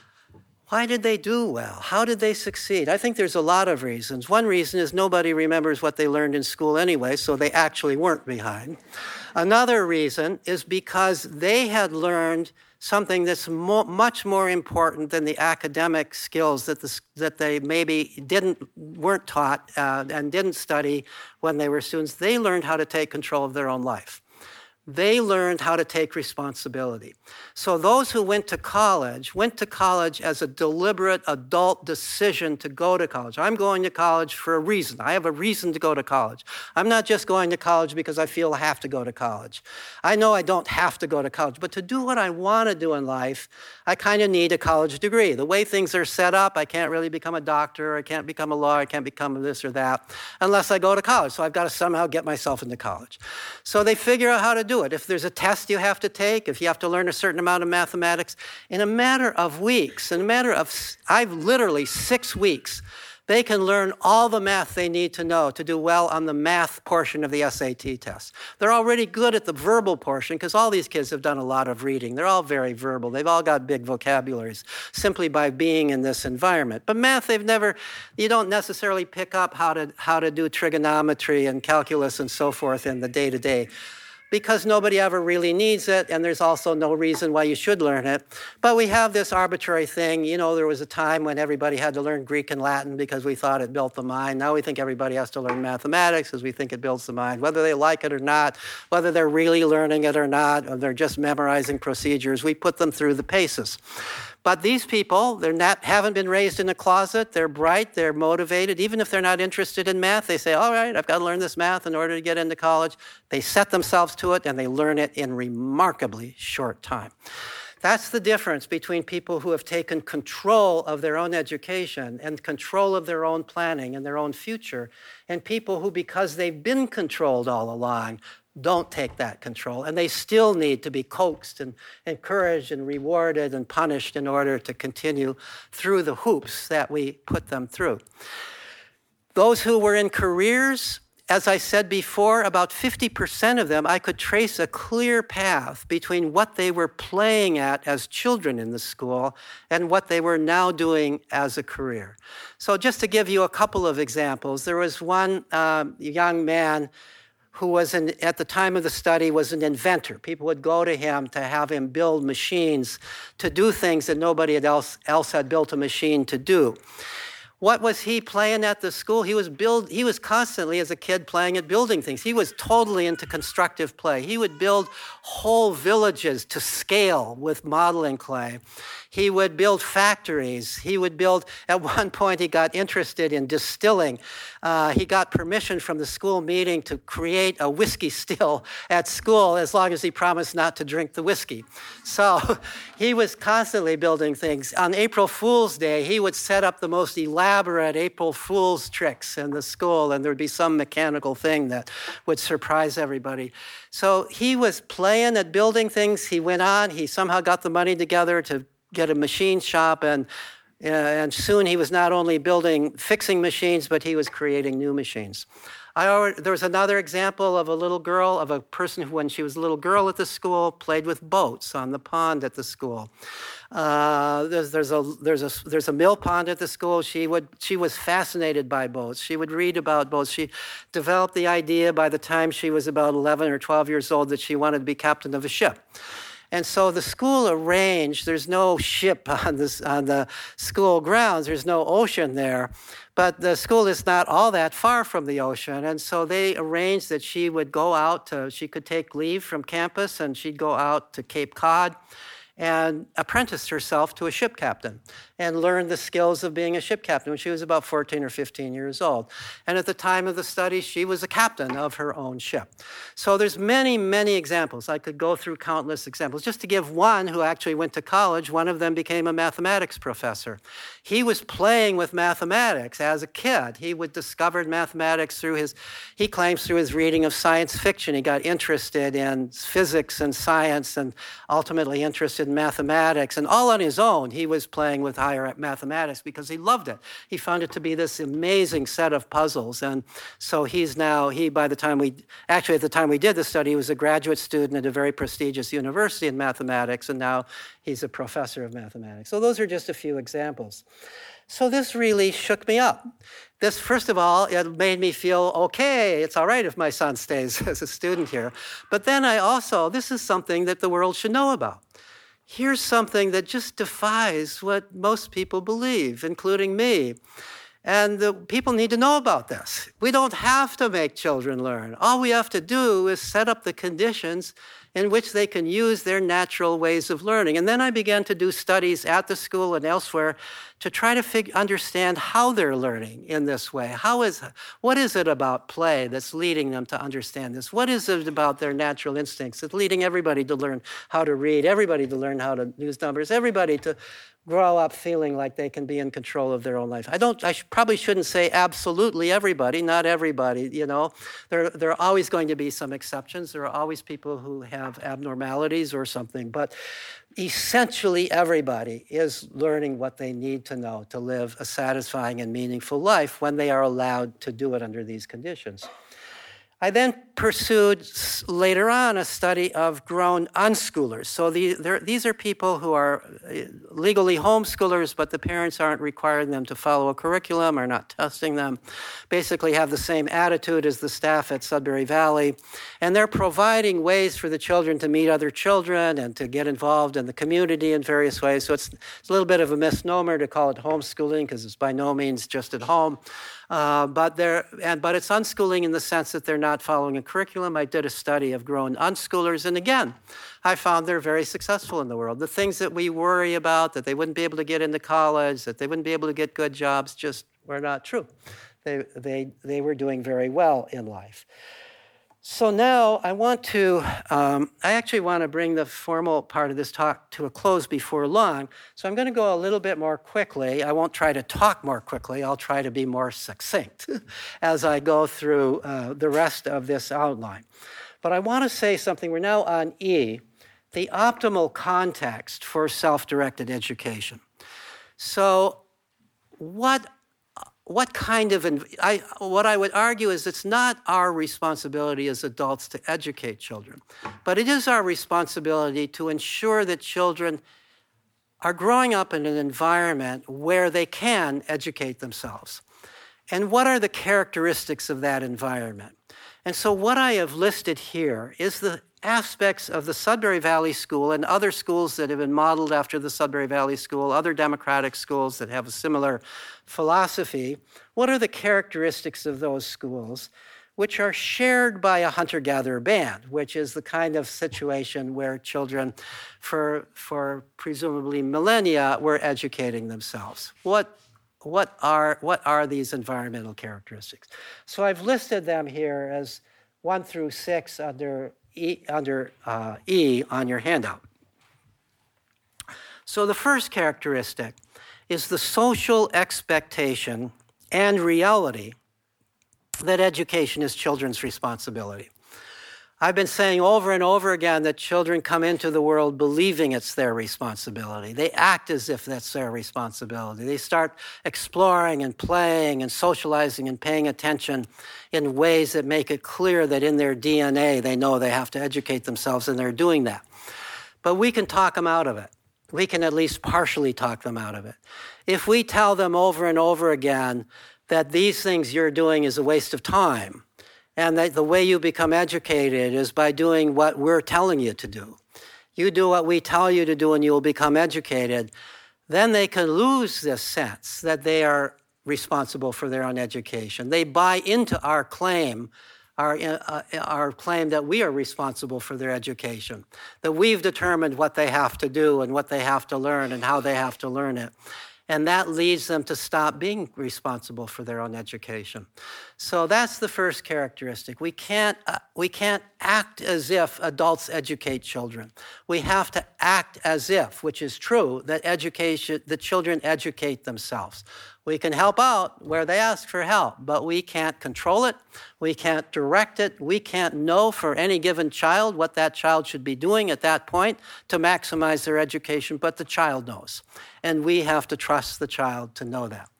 Why did they do well? How did they succeed? I think there's a lot of reasons. One reason is nobody remembers what they learned in school anyway, so they actually weren't behind. Another reason is because they had learned something that's much more important than the academic skills that they maybe weren't taught and didn't study when they were students. They learned how to take control of their own life. They learned how to take responsibility. So those who went to college as a deliberate adult decision to go to college. I'm going to college for a reason. I have a reason to go to college. I'm not just going to college because I feel I have to go to college. I know I don't have to go to college, but to do what I want to do in life, I kind of need a college degree. The way things are set up, I can't really become a doctor, I can't become a lawyer, I can't become this or that unless I go to college. So I've got to somehow get myself into college. So they figure out how to do it. If there's a test you have to take, if you have to learn a certain amount of mathematics, in a matter of weeks, I've literally 6 weeks, they can learn all the math they need to know to do well on the math portion of the SAT test. They're already good at the verbal portion because all these kids have done a lot of reading. They're all very verbal. They've all got big vocabularies simply by being in this environment. But math, you don't necessarily pick up how to do trigonometry and calculus and so forth in the day-to-day, because nobody ever really needs it, and there's also no reason why you should learn it. But we have this arbitrary thing. You know, there was a time when everybody had to learn Greek and Latin because we thought it built the mind. Now we think everybody has to learn mathematics because we think it builds the mind. Whether they like it or not, whether they're really learning it or not, or they're just memorizing procedures, we put them through the paces. But these people, haven't been raised in a closet. They're bright, they're motivated. Even if they're not interested in math, they say, all right, I've got to learn this math in order to get into college. They set themselves to it, and they learn it in remarkably short time. That's the difference between people who have taken control of their own education and control of their own planning and their own future, and people who, because they've been controlled all along, don't take that control, and they still need to be coaxed and encouraged and rewarded and punished in order to continue through the hoops that we put them through. Those who were in careers, as I said before, about 50% of them, I could trace a clear path between what they were playing at as children in the school and what they were now doing as a career. So just to give you a couple of examples, there was one young man who was, at the time of the study, was an inventor. People would go to him to have him build machines to do things that nobody else had built a machine to do. What was he playing at the school? He was constantly, as a kid, playing at building things. He was totally into constructive play. He would build whole villages to scale with modeling clay. He would build factories. He would build, at one point he got interested in distilling. He got permission from the school meeting to create a whiskey still at school as long as he promised not to drink the whiskey. So he was constantly building things. On April Fool's Day, he would set up the most elaborate April Fool's tricks in the school, and there would be some mechanical thing that would surprise everybody. So he was playing at building things. He went on. He somehow got the money together to get a machine shop, and And soon he was not only fixing machines, but he was creating new machines. There was another example of a little girl, of a person who, when she was a little girl at the school, played with boats on the pond at the school. There's a mill pond at the school. She was fascinated by boats. She would read about boats. She developed the idea by the time she was about 11 or 12 years old that she wanted to be captain of a ship. And so the school arranged, there's no ship on the school grounds, there's no ocean there, but the school is not all that far from the ocean. And so they arranged that she would go out she could take leave from campus and she'd go out to Cape Cod and apprenticed herself to a ship captain and learned the skills of being a ship captain when she was about 14 or 15 years old. And at the time of the study, she was a captain of her own ship. So there's many, many examples. I could go through countless examples. Just to give one who actually went to college, one of them became a mathematics professor. He was playing with mathematics as a kid. He discovered mathematics he claims through his reading of science fiction. He got interested in physics and science and ultimately interested in mathematics. And all on his own, he was playing with higher mathematics because he loved it. He found it to be this amazing set of puzzles. And so at the time we did the study, he was a graduate student at a very prestigious university in mathematics, and now he's a professor of mathematics. So those are just a few examples. So this really shook me up. This, first of all, it made me feel, okay, it's all right if my son stays as a student here. But then this is something that the world should know about. Here's something that just defies what most people believe, including me. And the people need to know about this. We don't have to make children learn. All we have to do is set up the conditions in which they can use their natural ways of learning. And then I began to do studies at the school and elsewhere to try to understand how they're learning in this way. What is it about play that's leading them to understand this? What is it about their natural instincts that's leading everybody to learn how to read, everybody to learn how to use numbers, everybody to grow up feeling like they can be in control of their own life? I probably shouldn't say absolutely everybody, not everybody, There are always going to be some exceptions. There are always people who have abnormalities or something, but essentially everybody is learning what they need to know to live a satisfying and meaningful life when they are allowed to do it under these conditions. I then pursued later on a study of grown unschoolers. So these are people who are legally homeschoolers, but the parents aren't requiring them to follow a curriculum or not testing them, basically have the same attitude as the staff at Sudbury Valley. And they're providing ways for the children to meet other children and to get involved in the community in various ways. So it's a little bit of a misnomer to call it homeschooling because it's by no means just at home. But it's unschooling in the sense that they're not following a curriculum. I did a study of grown unschoolers, and again, I found they're very successful in the world. The things that we worry about, that they wouldn't be able to get into college, that they wouldn't be able to get good jobs, just were not true. They were doing very well in life. So now I actually want to bring the formal part of this talk to a close before long. So I'm going to go a little bit more quickly. I won't try to talk more quickly. I'll try to be more succinct as I go through the rest of this outline. But I want to say something. We're now on E, the optimal context for self-directed education. So what I would argue is it's not our responsibility as adults to educate children, but it is our responsibility to ensure that children are growing up in an environment where they can educate themselves. And what are the characteristics of that environment? And so what I have listed here is the aspects of the Sudbury Valley School and other schools that have been modeled after the Sudbury Valley School, other democratic schools that have a similar philosophy. What are the characteristics of those schools, which are shared by a hunter-gatherer band, which is the kind of situation where children, for presumably millennia, were educating themselves? What are these environmental characteristics? So I've listed them here as 1 through 6 under E on your handout. So the first characteristic is the social expectation and reality that education is children's responsibility. I've been saying over and over again that children come into the world believing it's their responsibility. They act as if that's their responsibility. They start exploring and playing and socializing and paying attention in ways that make it clear that in their DNA they know they have to educate themselves, and they're doing that. But we can talk them out of it. We can at least partially talk them out of it. If we tell them over and over again that these things you're doing is a waste of time, and that the way you become educated is by doing what we're telling you to do. You do what we tell you to do and you will become educated. Then they can lose this sense that they are responsible for their own education. They buy into our claim, our claim that we are responsible for their education, that we've determined what they have to do and what they have to learn and how they have to learn it. And that leads them to stop being responsible for their own education. So that's the first characteristic. We can't act as if adults educate children. We have to act as if, which is true, that the children educate themselves. We can help out where they ask for help, but we can't control it. We can't direct it. We can't know for any given child what that child should be doing at that point to maximize their education, but the child knows. And we have to trust the child to know that.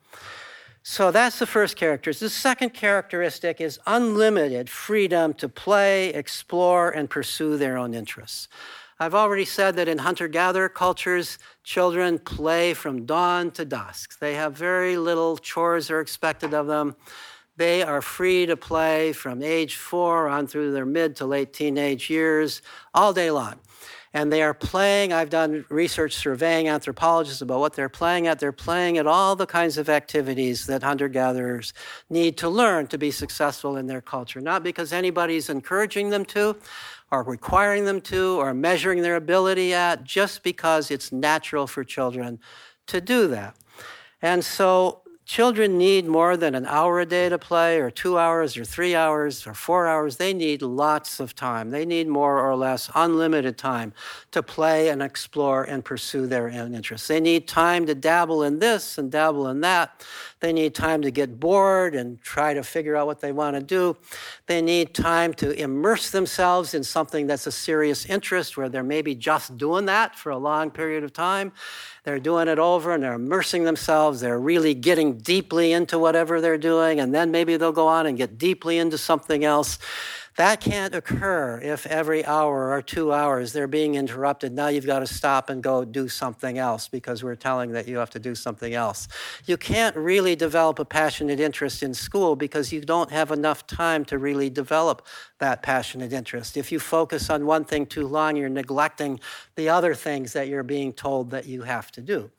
So that's the first characteristic. The second characteristic is unlimited freedom to play, explore, and pursue their own interests. I've already said that in hunter-gatherer cultures, children play from dawn to dusk. They have very little chores are expected of them. They are free to play from age 4 on through their mid to late teenage years all day long. And they are playing, I've done research surveying anthropologists about what they're playing at. They're playing at all the kinds of activities that hunter-gatherers need to learn to be successful in their culture. Not because anybody's encouraging them to, or requiring them to, or measuring their ability at, just because it's natural for children to do that. And so children need more than an hour a day to play, or 2 hours, or 3 hours, or 4 hours. They need lots of time. They need more or less unlimited time to play and explore and pursue their own interests. They need time to dabble in this and dabble in that. They need time to get bored and try to figure out what they want to do. They need time to immerse themselves in something that's a serious interest, where they're maybe just doing that for a long period of time. They're doing it over and they're immersing themselves. They're really getting deeply into whatever they're doing, and then maybe they'll go on and get deeply into something else. That can't occur if every hour or 2 hours they're being interrupted. Now you've got to stop and go do something else because we're telling that you have to do something else. You can't really develop a passionate interest in school because you don't have enough time to really develop that passionate interest. If you focus on one thing too long, you're neglecting the other things that you're being told that you have to do.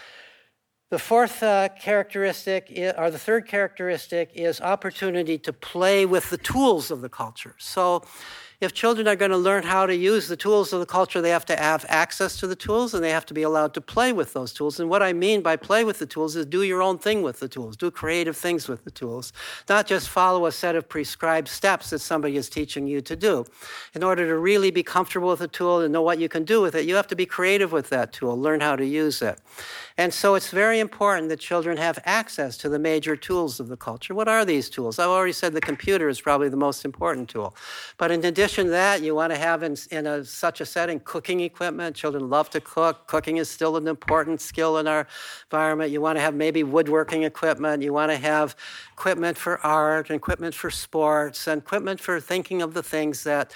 The fourth characteristic, or the third characteristic, is opportunity to play with the tools of the culture. So if children are going to learn how to use the tools of the culture, they have to have access to the tools, and they have to be allowed to play with those tools. And what I mean by play with the tools is do your own thing with the tools, do creative things with the tools, not just follow a set of prescribed steps that somebody is teaching you to do. In order to really be comfortable with a tool and know what you can do with it, you have to be creative with that tool, learn how to use it. And so it's very important that children have access to the major tools of the culture. What are these tools? I've already said the computer is probably the most important tool. But in addition to that, you want to have in such a setting cooking equipment. Children love to cook. Cooking is still an important skill in our environment. You want to have maybe woodworking equipment. You want to have equipment for art, and equipment for sports, and equipment for thinking of the things that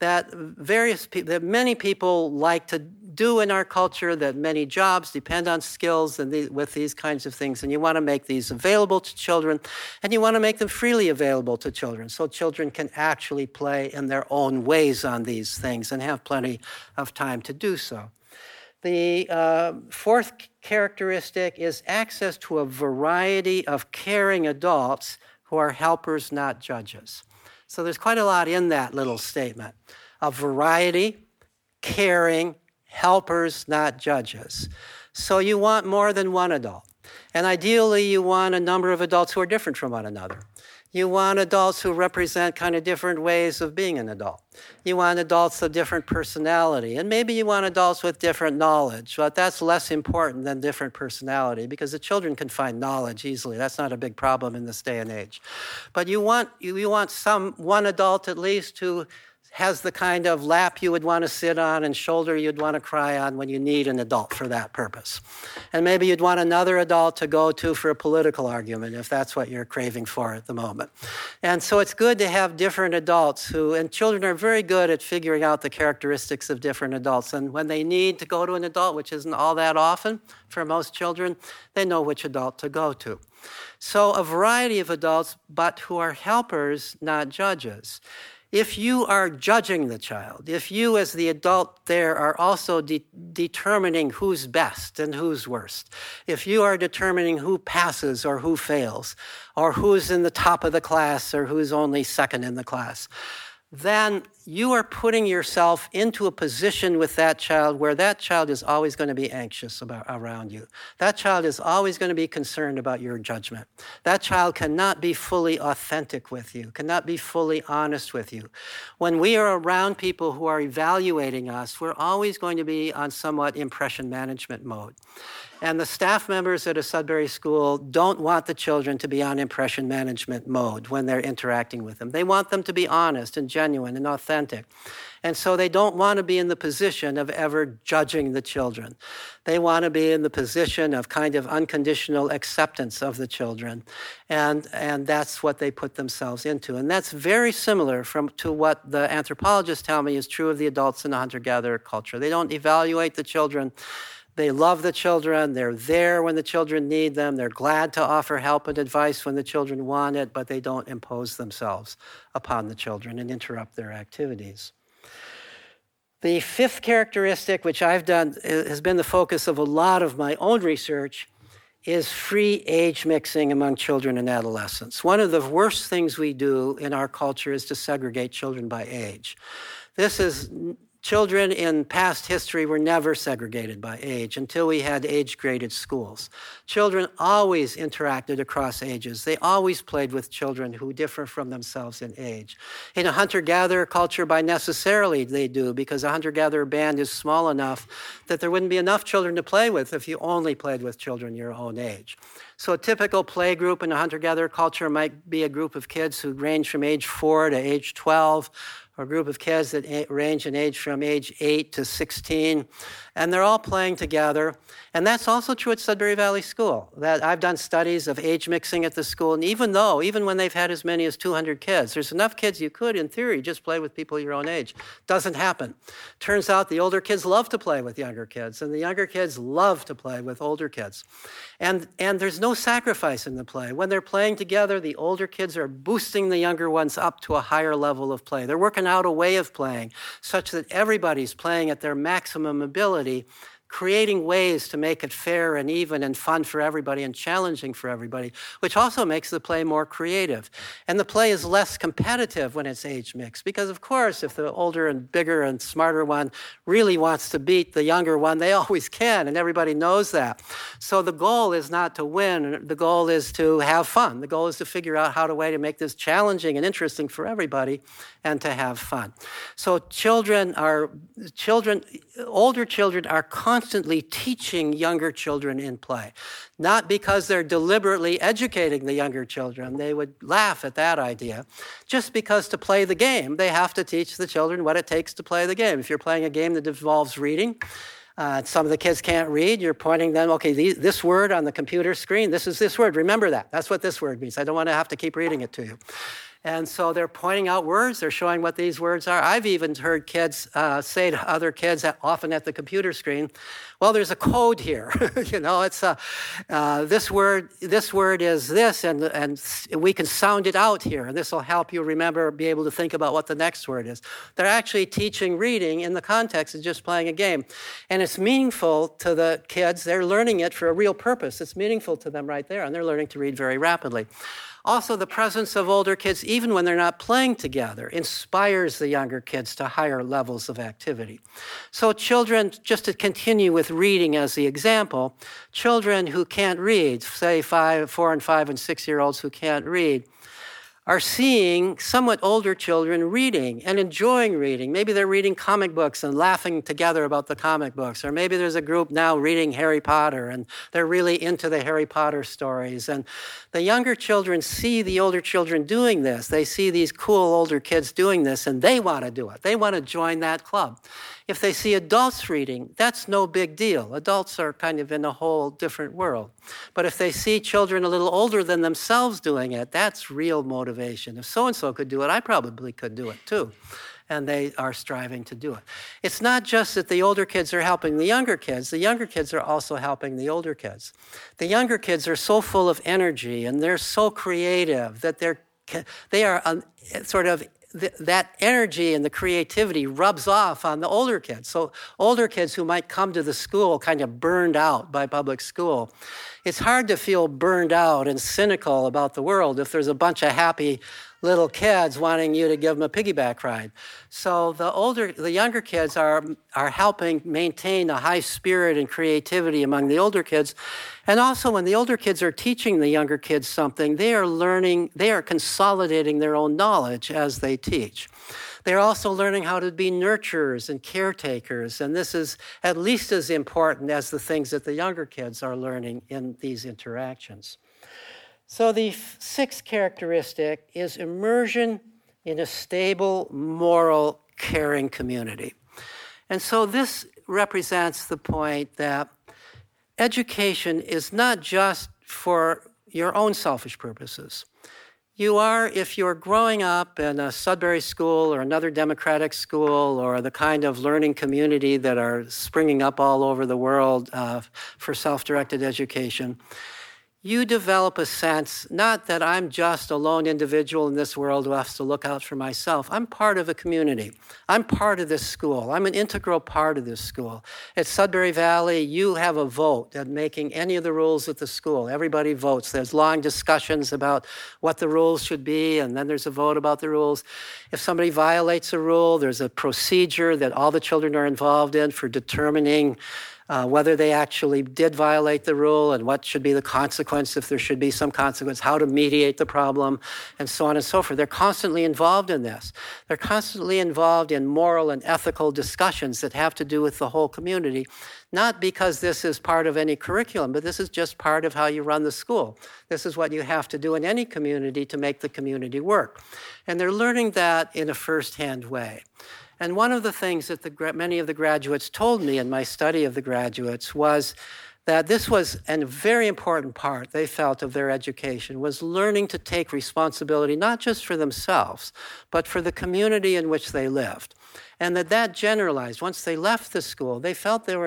many people like to do in our culture, that many jobs depend on skills and with these kinds of things. And you want to make these available to children, and you want to make them freely available to children so children can actually play in their own ways on these things and have plenty of time to do so. The fourth characteristic is access to a variety of caring adults who are helpers, not judges. So there's quite a lot in that little statement. A variety, caring, helpers, not judges. So you want more than one adult. And ideally, you want a number of adults who are different from one another. You want adults who represent kind of different ways of being an adult. You want adults of different personality. And maybe you want adults with different knowledge, but that's less important than different personality because the children can find knowledge easily. That's not a big problem in this day and age. But you want one adult at least who has the kind of lap you would want to sit on and shoulder you'd want to cry on when you need an adult for that purpose. And maybe you'd want another adult to go to for a political argument if that's what you're craving for at the moment. And so it's good to have different adults and children are very good at figuring out the characteristics of different adults. And when they need to go to an adult, which isn't all that often for most children, they know which adult to go to. So a variety of adults, but who are helpers, not judges. If you are judging the child, if you as the adult there are also determining who's best and who's worst, if you are determining who passes or who fails, or who's in the top of the class or who's only second in the class, then you are putting yourself into a position with that child where that child is always going to be anxious around you. That child is always going to be concerned about your judgment. That child cannot be fully authentic with you, cannot be fully honest with you. When we are around people who are evaluating us, we're always going to be on somewhat impression management mode. And the staff members at a Sudbury school don't want the children to be on impression management mode when they're interacting with them. They want them to be honest and genuine and authentic. And so they don't want to be in the position of ever judging the children. They want to be in the position of kind of unconditional acceptance of the children. And that's what they put themselves into. And that's very similar to what the anthropologists tell me is true of the adults in the hunter-gatherer culture. They don't evaluate the children. They love the children. They're there when the children need them. They're glad to offer help and advice when the children want it, but they don't impose themselves upon the children and interrupt their activities. The fifth characteristic, which I've done, has been the focus of a lot of my own research, is free age mixing among children and adolescents. One of the worst things we do in our culture is to segregate children by age. Children in past history were never segregated by age until we had age-graded schools. Children always interacted across ages. They always played with children who differ from themselves in age. In a hunter-gatherer culture, by necessarily they do, because a hunter-gatherer band is small enough that there wouldn't be enough children to play with if you only played with children your own age. So a typical play group in a hunter-gatherer culture might be a group of kids who range from age 4 to age 12, or a group of kids that range in age from age 8 to 16, and they're all playing together. And that's also true at Sudbury Valley School. That I've done studies of age mixing at the school, and even when they've had as many as 200 kids, there's enough kids you could, in theory, just play with people your own age. Doesn't happen. Turns out the older kids love to play with younger kids, and the younger kids love to play with older kids. And there's no sacrifice in the play. When they're playing together, the older kids are boosting the younger ones up to a higher level of play. They're working out a way of playing such that everybody's playing at their maximum ability, creating ways to make it fair and even and fun for everybody and challenging for everybody, which also makes the play more creative. And the play is less competitive when it's age mixed, because of course, if the older and bigger and smarter one really wants to beat the younger one, they always can, and everybody knows that. So the goal is not to win, the goal is to have fun. The goal is to figure out how to make this challenging and interesting for everybody and to have fun. So older children are constantly teaching younger children in play, not because they're deliberately educating the younger children. They would laugh at that idea. Just because to play the game, they have to teach the children what it takes to play the game. If you're playing a game that involves reading, some of the kids can't read, you're pointing them, okay, this word on the computer screen, this is this word, remember that. That's what this word means. I don't want to have to keep reading it to you. And so they're pointing out words, they're showing what these words are. I've even heard kids say to other kids, often at the computer screen, well, there's a code here. It's this word is this, and we can sound it out here, and this will help you be able to think about what the next word is. They're actually teaching reading in the context of just playing a game. And it's meaningful to the kids. They're learning it for a real purpose. It's meaningful to them right there, and they're learning to read very rapidly. Also, the presence of older kids, even when they're not playing together, inspires the younger kids to higher levels of activity. So children, just to continue with reading as the example, children who can't read, say 4 and 5 and 6-year-olds who can't read, are seeing somewhat older children reading and enjoying reading. Maybe they're reading comic books and laughing together about the comic books. Or maybe there's a group now reading Harry Potter and they're really into the Harry Potter stories. And the younger children see the older children doing this. They see these cool older kids doing this and they want to do it. They want to join that club. If they see adults reading, that's no big deal. Adults are kind of in a whole different world. But if they see children a little older than themselves doing it, that's real motivation. If so-and-so could do it, I probably could do it too. And they are striving to do it. It's not just that the older kids are helping the younger kids are also helping the older kids. The younger kids are so full of energy and they're so creative that they are sort of that energy and the creativity rubs off on the older kids. So older kids who might come to the school kind of burned out by public school. It's hard to feel burned out and cynical about the world if there's a bunch of happy little kids wanting you to give them a piggyback ride. So the younger kids are helping maintain a high spirit and creativity among the older kids. And also when the older kids are teaching the younger kids something, they are consolidating their own knowledge as they teach. They're also learning how to be nurturers and caretakers, and this is at least as important as the things that the younger kids are learning in these interactions. So the sixth characteristic is immersion in a stable, moral, caring community. And so this represents the point that education is not just for your own selfish purposes. If you're growing up in a Sudbury school or another democratic school or the kind of learning community that are springing up all over the world for self-directed education, you develop a sense, not that I'm just a lone individual in this world who has to look out for myself. I'm part of a community. I'm part of this school. I'm an integral part of this school. At Sudbury Valley, you have a vote at making any of the rules at the school. Everybody votes. There's long discussions about what the rules should be, and then there's a vote about the rules. If somebody violates a rule, there's a procedure that all the children are involved in for determining whether they actually did violate the rule and what should be the consequence, if there should be some consequence, how to mediate the problem, and so on and so forth. They're constantly involved in this. They're constantly involved in moral and ethical discussions that have to do with the whole community, not because this is part of any curriculum, but this is just part of how you run the school. This is what you have to do in any community to make the community work. And they're learning that in a first-hand way. And one of the things that many of the graduates told me in my study of the graduates was that this was a very important part, they felt, of their education, was learning to take responsibility not just for themselves, but for the community in which they lived. And that generalized. Once they left the school, they felt they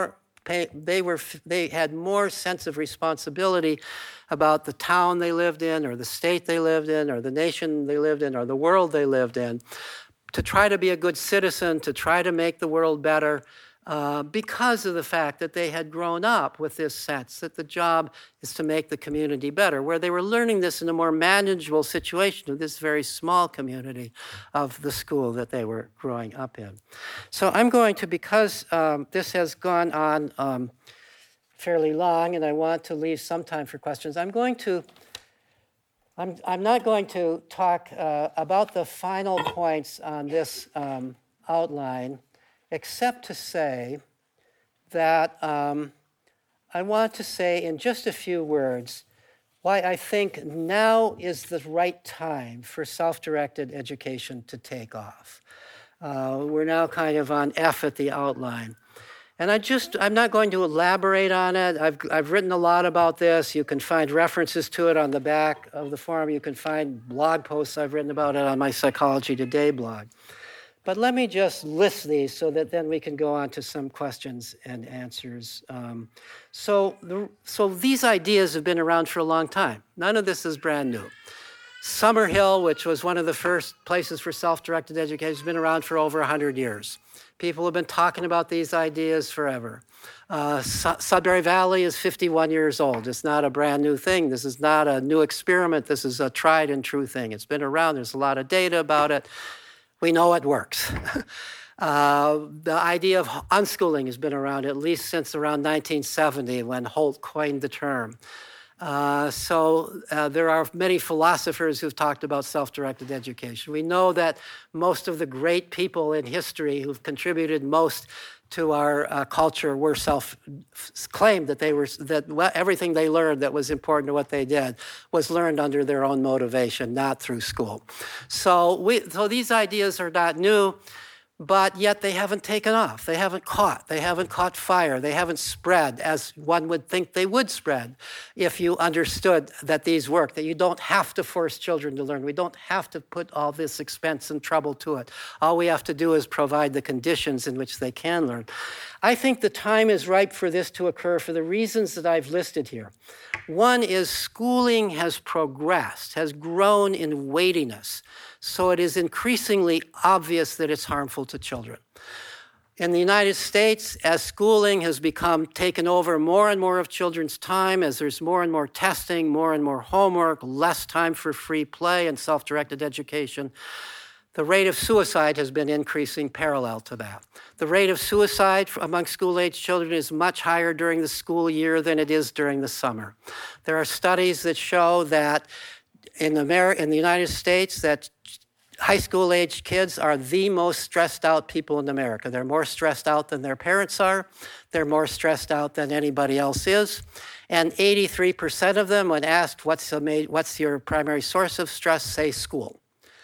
had more sense of responsibility about the town they lived in, or the state they lived in, or the nation they lived in, or the world they lived in, to try to be a good citizen, to try to make the world better, because of the fact that they had grown up with this sense that the job is to make the community better, where they were learning this in a more manageable situation of this very small community of the school that they were growing up in. So I'm going to, because this has gone on fairly long and I want to leave some time for questions, I'm not going to talk about the final points on this outline, except to say that I want to say in just a few words why I think now is the right time for self-directed education to take off. We're now kind of on F at the outline. And I'm not going to elaborate on it. I've written a lot about this. You can find references to it on the back of the form. You can find blog posts I've written about it on my Psychology Today blog. But let me just list these so that then we can go on to some questions and answers. So these ideas have been around for a long time. None of this is brand new. Summerhill, which was one of the first places for self-directed education, has been around for over 100 years. People have been talking about these ideas forever. Sudbury Valley is 51 years old. It's not a brand new thing. This is not a new experiment. This is a tried and true thing. It's been around. There's a lot of data about it. We know it works. The idea of unschooling has been around at least since around 1970 when Holt coined the term. There are many philosophers who've talked about self-directed education. We know that most of the great people in history who've contributed most to our culture were claimed that everything they learned that was important to what they did was learned under their own motivation, not through school. So these ideas are not new, but yet they haven't taken off. They haven't caught fire. They haven't spread as one would think they would spread if you understood that these work, that you don't have to force children to learn. We don't have to put all this expense and trouble to it. All we have to do is provide the conditions in which they can learn. I think the time is ripe for this to occur for the reasons that I've listed here. One is schooling has progressed, has grown in weightiness, so it is increasingly obvious that it's harmful to children. In the United States, as schooling has become taken over more and more of children's time, as there's more and more testing, more and more homework, less time for free play and self-directed education, the rate of suicide has been increasing parallel to that. The rate of suicide among school-age children is much higher during the school year than it is during the summer. There are studies that show that in the United States that high school-age kids are the most stressed out people in America. They're more stressed out than their parents are. They're more stressed out than anybody else is. And 83% of them, when asked what's your primary source of stress, say school.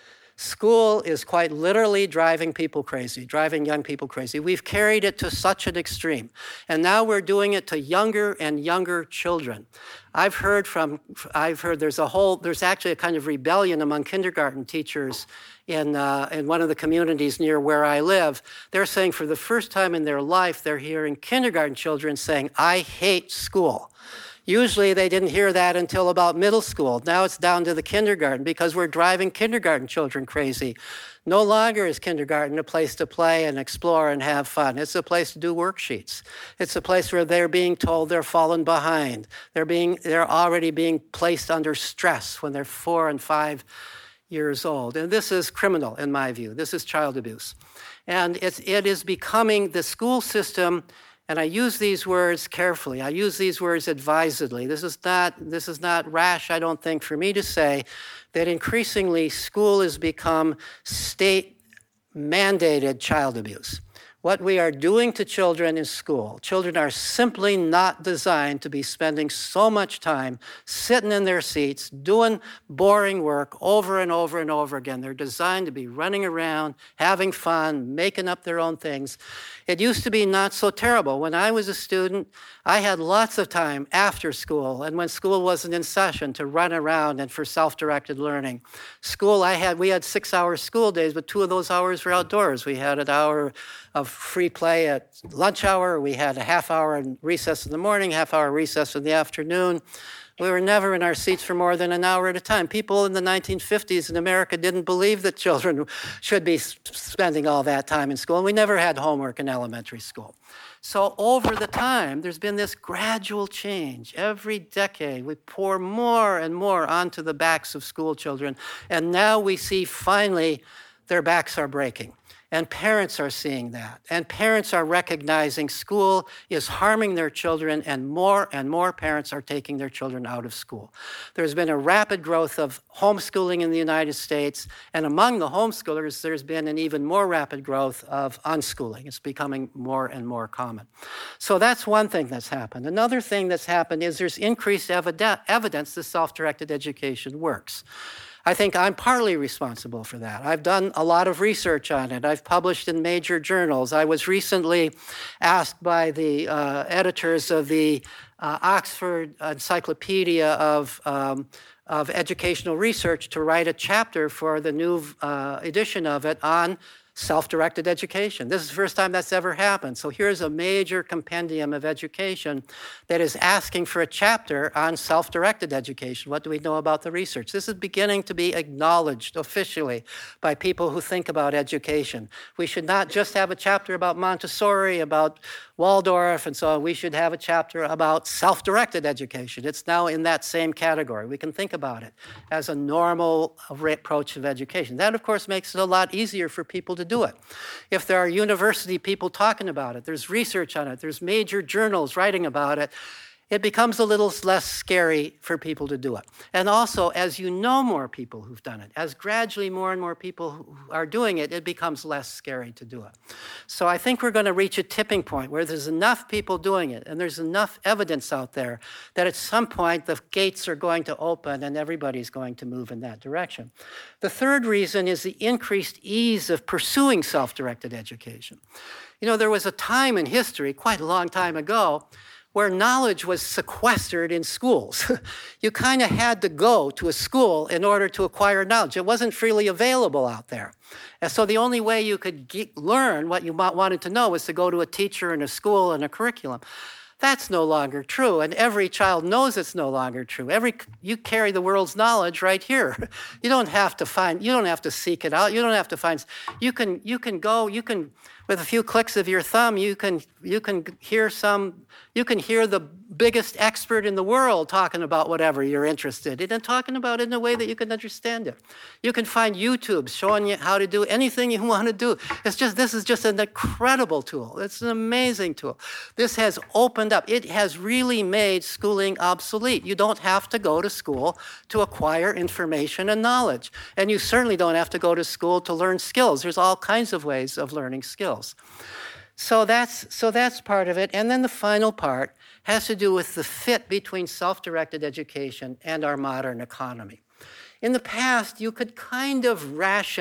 School is quite literally driving people crazy, driving young people crazy. We've carried it to such an extreme. And now we're doing it to younger and younger children. I've heard there's actually a kind of rebellion among kindergarten teachers in one of the communities near where I live. They're saying for the first time in their life, they're hearing kindergarten children saying, "I hate school." Usually they didn't hear that until about middle school. Now it's down to the kindergarten because we're driving kindergarten children crazy. No longer is kindergarten a place to play and explore and have fun. It's a place to do worksheets. It's a place where they're being told they're fallen behind. They're already being placed under stress when they're 4 and 5 years old. And this is criminal in my view. This is child abuse. And it is becoming the school system. And I use these words carefully. I use these words advisedly. This is not rash, I don't think, for me to say that increasingly school has become state-mandated child abuse. What we are doing to children in school, children are simply not designed to be spending so much time sitting in their seats, doing boring work over and over and over again. They're designed to be running around, having fun, making up their own things. It used to be not so terrible. When I was a student, I had lots of time after school and when school wasn't in session to run around and for self-directed learning. We had 6-hour school days, but 2 of those hours were outdoors. We had an hour of free play at lunch hour. We had a half hour in recess in the morning, half hour recess in the afternoon. We were never in our seats for more than an hour at a time. People in the 1950s in America didn't believe that children should be spending all that time in school, and we never had homework in elementary school. So over the time, there's been this gradual change. Every decade, we pour more and more onto the backs of school children, and now we see finally their backs are breaking. And parents are seeing that. And parents are recognizing school is harming their children, and more parents are taking their children out of school. There's been a rapid growth of homeschooling in the United States, and among the homeschoolers, there's been an even more rapid growth of unschooling. It's becoming more and more common. So that's one thing that's happened. Another thing that's happened is there's increased evidence that self-directed education works. I think I'm partly responsible for that. I've done a lot of research on it. I've published in major journals. I was recently asked by the editors of the Oxford Encyclopedia of Educational Research to write a chapter for the new edition of it on self-directed education. This is the first time that's ever happened. So here's a major compendium of education that is asking for a chapter on self-directed education. What do we know about the research? This is beginning to be acknowledged officially by people who think about education. We should not just have a chapter about Montessori, about Waldorf, and so on. We should have a chapter about self-directed education. It's now in that same category. We can think about it as a normal approach of education. That, of course, makes it a lot easier for people to do it. If there are university people talking about it, there's research on it, there's major journals writing about it, it becomes a little less scary for people to do it. And also, as you know more people who've done it, as gradually more and more people who are doing it, it becomes less scary to do it. So I think we're going to reach a tipping point where there's enough people doing it and there's enough evidence out there that at some point the gates are going to open and everybody's going to move in that direction. The third reason is the increased ease of pursuing self-directed education. You know, there was a time in history, quite a long time ago, where knowledge was sequestered in schools. You kind of had to go to a school in order to acquire knowledge. It wasn't freely available out there. And so the only way you could learn what you wanted to know was to go to a teacher and a school and a curriculum. That's no longer true, and every child knows it's no longer true. You carry the world's knowledge right here. You don't have to seek it out. You don't have to find. You can with a few clicks of your thumb, you can hear the biggest expert in the world talking about whatever you're interested in and talking about it in a way that you can understand it. You can find YouTube showing you how to do anything you want to do. This is just an incredible tool. It's an amazing tool. This has opened up. It has really made schooling obsolete. You don't have to go to school to acquire information and knowledge. And you certainly don't have to go to school to learn skills. There's all kinds of ways of learning skills. So that's part of it. And then the final part has to do with the fit between self-directed education and our modern economy. In the past, you could kind of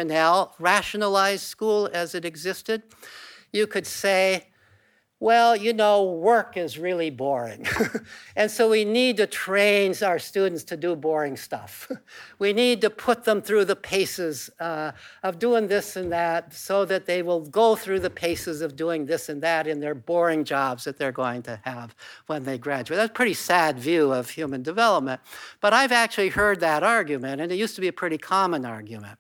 rationalize school as it existed. You could say, well, you know, work is really boring. And so we need to train our students to do boring stuff. We need to put them through the paces of doing this and that so that they will go through the paces of doing this and that in their boring jobs that they're going to have when they graduate. That's a pretty sad view of human development. But I've actually heard that argument, and it used to be a pretty common argument.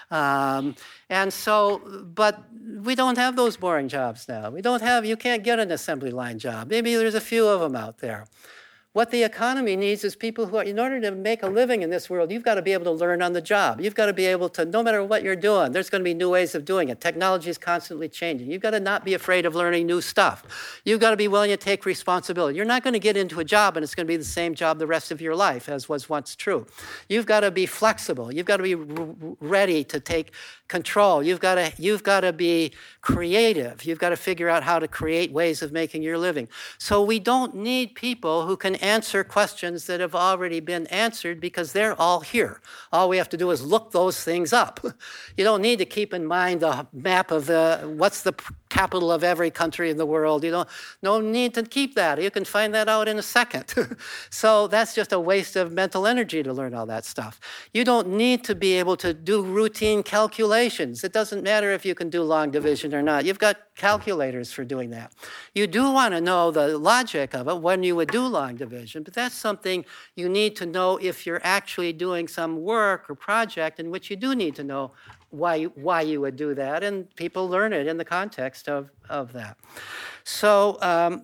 But we don't have those boring jobs now. You can't get an assembly line job. Maybe there's a few of them out there. What the economy needs is people who, in order to make a living in this world, you've got to be able to learn on the job. You've got to be able to, no matter what you're doing, there's going to be new ways of doing it. Technology is constantly changing. You've got to not be afraid of learning new stuff. You've got to be willing to take responsibility. You're not going to get into a job and it's going to be the same job the rest of your life as was once true. You've got to be flexible. You've got to be ready to take control. You've got to be creative. You've got to figure out how to create ways of making your living. So we don't need people who can answer questions that have already been answered because they're all here. All we have to do is look those things up. You don't need to keep in mind the map of what's the capital of every country in the world. No need to keep that. You can find that out in a second. So that's just a waste of mental energy to learn all that stuff. You don't need to be able to do routine calculations. It doesn't matter if you can do long division or not. You've got calculators for doing that. You do want to know the logic of it when you would do long division, but that's something you need to know if you're actually doing some work or project in which you do need to know why you would do that, and people learn it in the context of that. So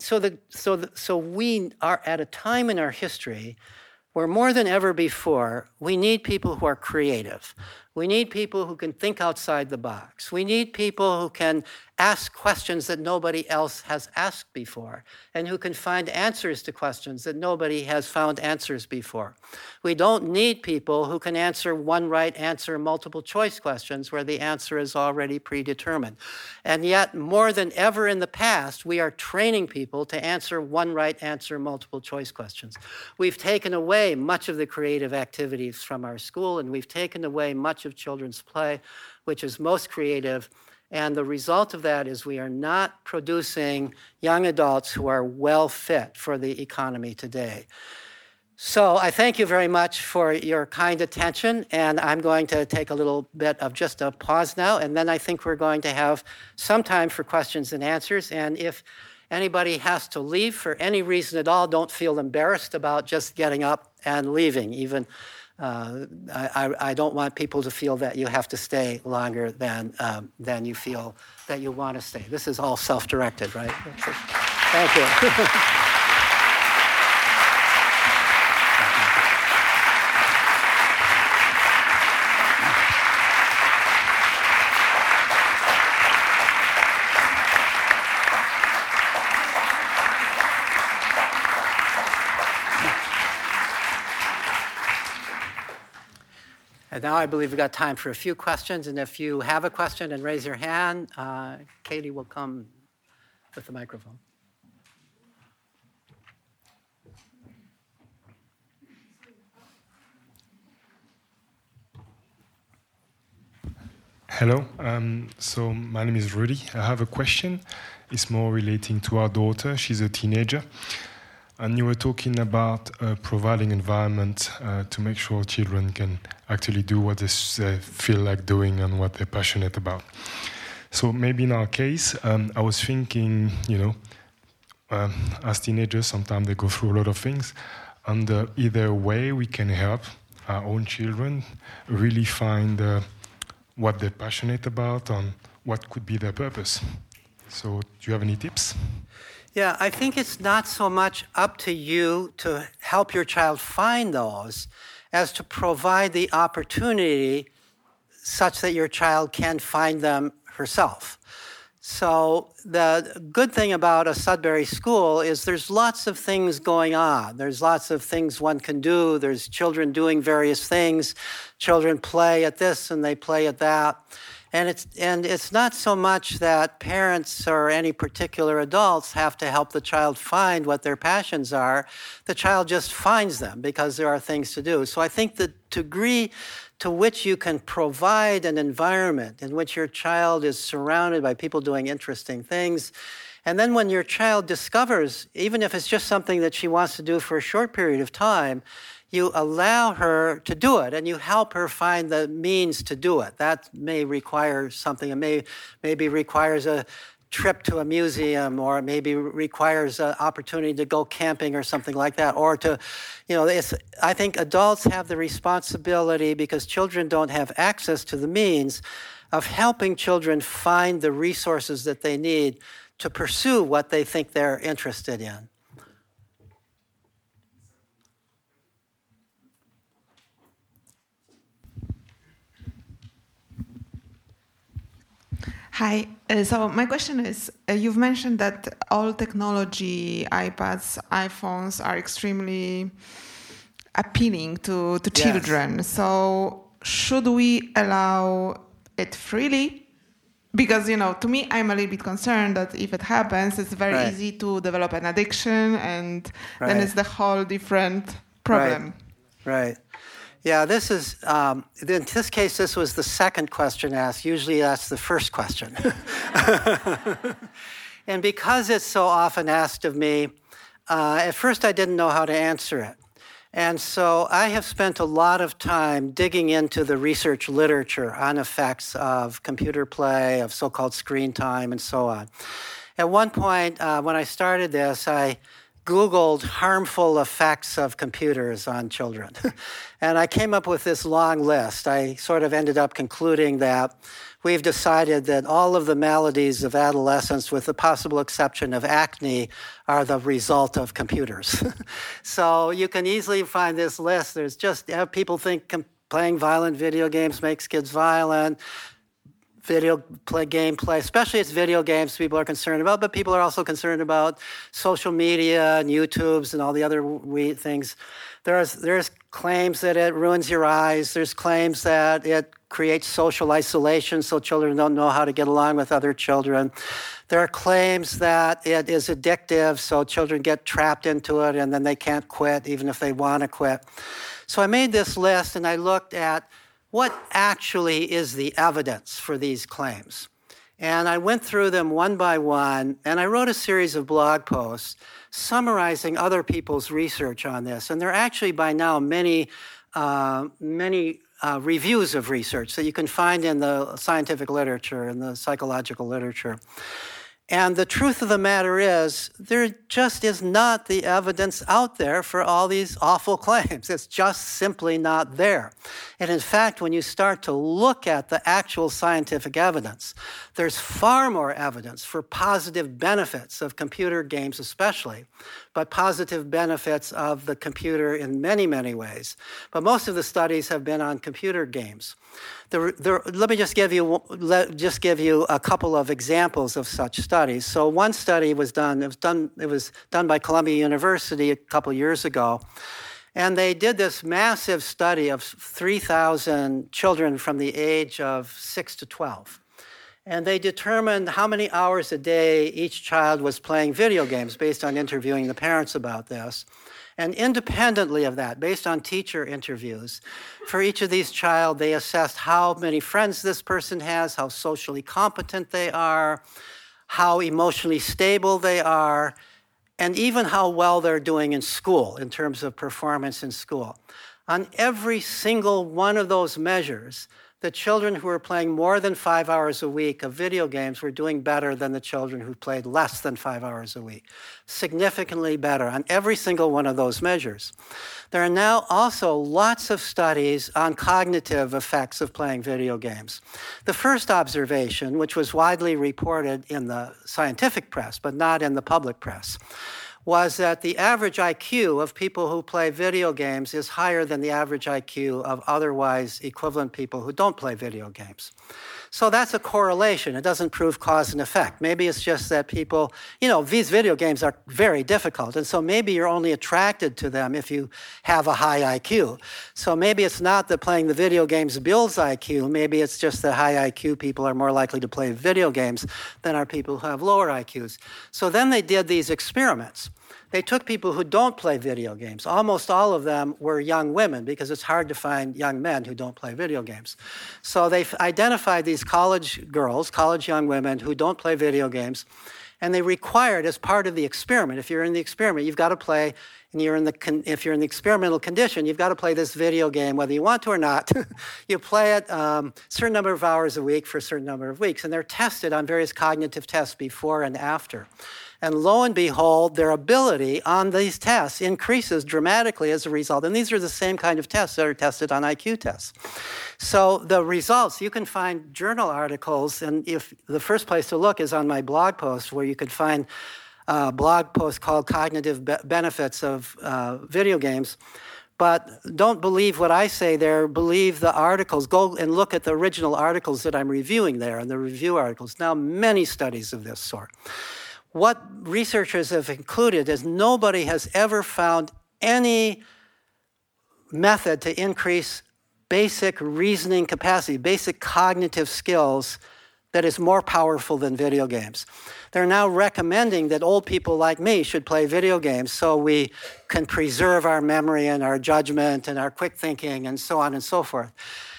we are at a time in our history where more than ever before, we need people who are creative. We need people who can think outside the box. We need people who can ask questions that nobody else has asked before and who can find answers to questions that nobody has found answers before. We don't need people who can answer one right answer multiple choice questions where the answer is already predetermined. And yet, more than ever in the past, we are training people to answer one right answer multiple choice questions. We've taken away much of the creative activities from our school, and we've taken away much of children's play, which is most creative. And the result of that is we are not producing young adults who are well fit for the economy today. So I thank you very much for your kind attention, and I'm going to take a little bit of just a pause now, and then I think we're going to have some time for questions and answers. And if anybody has to leave for any reason at all, don't feel embarrassed about just getting up and leaving. Even I don't want people to feel that you have to stay longer than you feel that you want to stay. This is all self-directed, right? Thank you. And now I believe we've got time for a few questions. And if you have a question, and raise your hand, Katie will come with the microphone.
Hello. So my name is Rudy. I have a question. It's more relating to our daughter. She's a teenager. And you were talking about providing environment to make sure children can actually do what they feel like doing and what they're passionate about. So maybe in our case, I was thinking, as teenagers, sometimes they go through a lot of things. And either way we can help our own children really find what they're passionate about and what could be their purpose. So do you have any tips?
Yeah, I think it's not so much up to you to help your child find those as to provide the opportunity such that your child can find them herself. So the good thing about a Sudbury school is there's lots of things going on. There's lots of things one can do. There's children doing various things. Children play at this and they play at that. And it's not so much that parents or any particular adults have to help the child find what their passions are. The child just finds them because there are things to do. So I think the degree to which you can provide an environment in which your child is surrounded by people doing interesting things, and then when your child discovers, even if it's just something that she wants to do for a short period of time, you allow her to do it and you help her find the means to do it. That may require something. It maybe requires a trip to a museum, or it maybe requires an opportunity to go camping or something like that. Or to, I think adults have the responsibility, because children don't have access to the means, of helping children find the resources that they need to pursue what they think they're interested in.
Hi. So my question is, you've mentioned that all technology, iPads, iPhones, are extremely appealing to children. Yes. So should we allow it freely? Because, to me, I'm a little bit concerned that if it happens, it's very easy to develop an addiction, and then it's the whole different problem.
Right. Yeah, this is, in this case, this was the second question asked. Usually that's the first question. And because it's so often asked of me, at first I didn't know how to answer it. And so I have spent a lot of time digging into the research literature on effects of computer play, of so-called screen time, and so on. At one point, when I started this, I Googled harmful effects of computers on children. And I came up with this long list. I sort of ended up concluding that we've decided that all of the maladies of adolescence, with the possible exception of acne, are the result of computers. So you can easily find this list. There's just, people think playing violent video games makes kids violent. Gameplay, especially it's video games people are concerned about, but people are also concerned about social media and YouTubes and all the other things. There's claims that it ruins your eyes. There's claims that it creates social isolation, so children don't know how to get along with other children. There are claims that it is addictive, so children get trapped into it and then they can't quit even if they want to quit. So I made this list and I looked at what actually is the evidence for these claims. And I went through them one by one, and I wrote a series of blog posts summarizing other people's research on this. And there are actually by now many reviews of research that you can find in the scientific literature and the psychological literature. And the truth of the matter is, there just is not the evidence out there for all these awful claims. It's just simply not there. And in fact, when you start to look at the actual scientific evidence, there's far more evidence for positive benefits of computer games especially, but positive benefits of the computer in many, many ways. But most of the studies have been on computer games. Let me just give you a couple of examples of such studies. So one study was done. It was done by Columbia University a couple years ago, And they did this massive study of 3,000 children from the age of 6 to 12. And they determined how many hours a day each child was playing video games based on interviewing the parents about this. And independently of that, based on teacher interviews, for each of these child, they assessed how many friends this person has, how socially competent they are, how emotionally stable they are, and even how well they're doing in school in terms of performance in school. On every single one of those measures, the children who were playing more than 5 hours a week of video games were doing better than the children who played less than 5 hours a week. Significantly better on every single one of those measures. There are now also lots of studies on cognitive effects of playing video games. The first observation, which was widely reported in the scientific press, but not in the public press, was that the average IQ of people who play video games is higher than the average IQ of otherwise equivalent people who don't play video games. So that's a correlation. It doesn't prove cause and effect. Maybe it's just that people, these video games are very difficult, and so maybe you're only attracted to them if you have a high IQ. So maybe it's not that playing the video games builds IQ. Maybe it's just that high IQ people are more likely to play video games than are people who have lower IQs. So then they did these experiments. They took people who don't play video games. Almost all of them were young women because it's hard to find young men who don't play video games. So they identified these college girls, college young women who don't play video games, and they required as part of the experiment, if you're in the experiment, you've got to play, and if you're in the experimental condition, you've got to play this video game whether you want to or not. You play it a certain number of hours a week for a certain number of weeks, and they're tested on various cognitive tests before and after. And lo and behold, their ability on these tests increases dramatically as a result. And these are the same kind of tests that are tested on IQ tests. So the results, you can find journal articles, and if the first place to look is on my blog post, where you could find a blog post called Cognitive Benefits of Video Games. But don't believe what I say there, believe the articles. Go and look at the original articles that I'm reviewing there, and the review articles. Now, many studies of this sort. What researchers have concluded is nobody has ever found any method to increase basic reasoning capacity, basic cognitive skills that is more powerful than video games. They're now recommending that old people like me should play video games so we can preserve our memory and our judgment and our quick thinking and so on and so forth.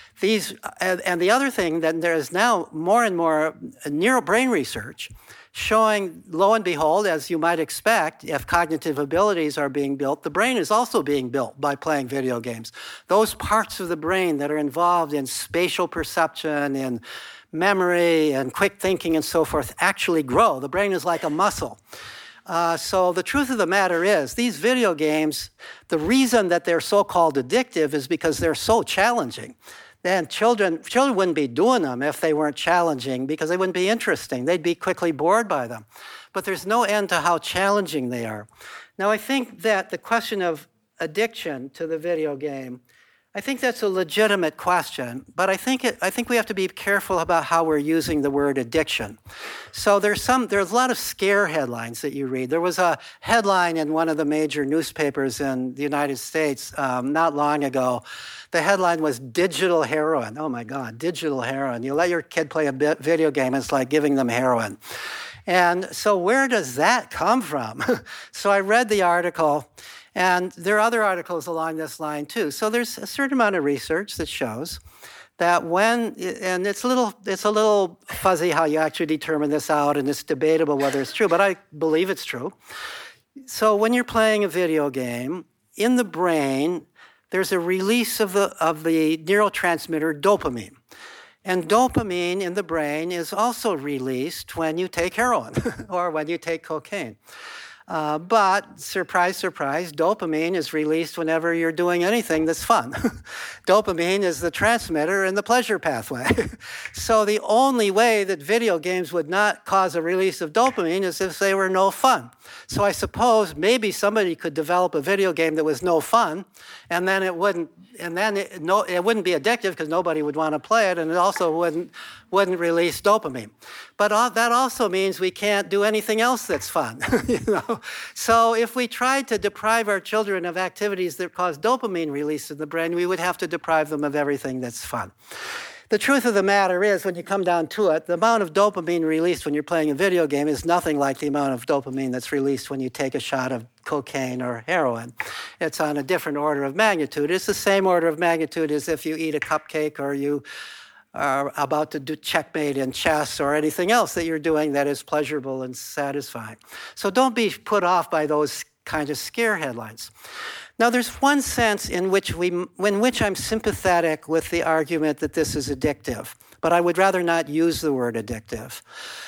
And the other thing, that there is now more and more neurobrain research showing, lo and behold, as you might expect, if cognitive abilities are being built, the brain is also being built by playing video games. Those parts of the brain that are involved in spatial perception, in memory, and quick thinking and so forth actually grow. The brain is like a muscle. So the truth of the matter is, these video games, the reason that they're so-called addictive is because they're so challenging. Then children wouldn't be doing them if they weren't challenging, because they wouldn't be interesting. They'd be quickly bored by them. But there's no end to how challenging they are. Now, I think that the question of addiction to the video game, I think that's a legitimate question, but I think we have to be careful about how we're using the word addiction. So there's a lot of scare headlines that you read. There was a headline in one of the major newspapers in the United States not long ago. The headline was "Digital Heroin." Oh my God, digital heroin. You let your kid play a video game, it's like giving them heroin. And so where does that come from? So I read the article, and there are other articles along this line too. So there's a certain amount of research that shows that and it's a little fuzzy how you actually determine this out, and it's debatable whether it's true, but I believe it's true. So when you're playing a video game, in the brain, there's a release of the neurotransmitter dopamine. And dopamine in the brain is also released when you take heroin or when you take cocaine. But surprise, surprise, dopamine is released whenever you're doing anything that's fun. Dopamine is the transmitter in the pleasure pathway. So the only way that video games would not cause a release of dopamine is if they were no fun. So I suppose maybe somebody could develop a video game that was no fun, and then it wouldn't be addictive because nobody would want to play it, and it also wouldn't release dopamine. But that also means we can't do anything else that's fun. So if we tried to deprive our children of activities that cause dopamine release in the brain, we would have to deprive them of everything that's fun. The truth of the matter is, when you come down to it, the amount of dopamine released when you're playing a video game is nothing like the amount of dopamine that's released when you take a shot of cocaine or heroin. It's on a different order of magnitude. It's the same order of magnitude as if you eat a cupcake or you are about to do checkmate in chess or anything else that you're doing that is pleasurable and satisfying. So don't be put off by those kind of scare headlines. Now, there's one sense in which I'm sympathetic with the argument that this is addictive, but I would rather not use the word addictive.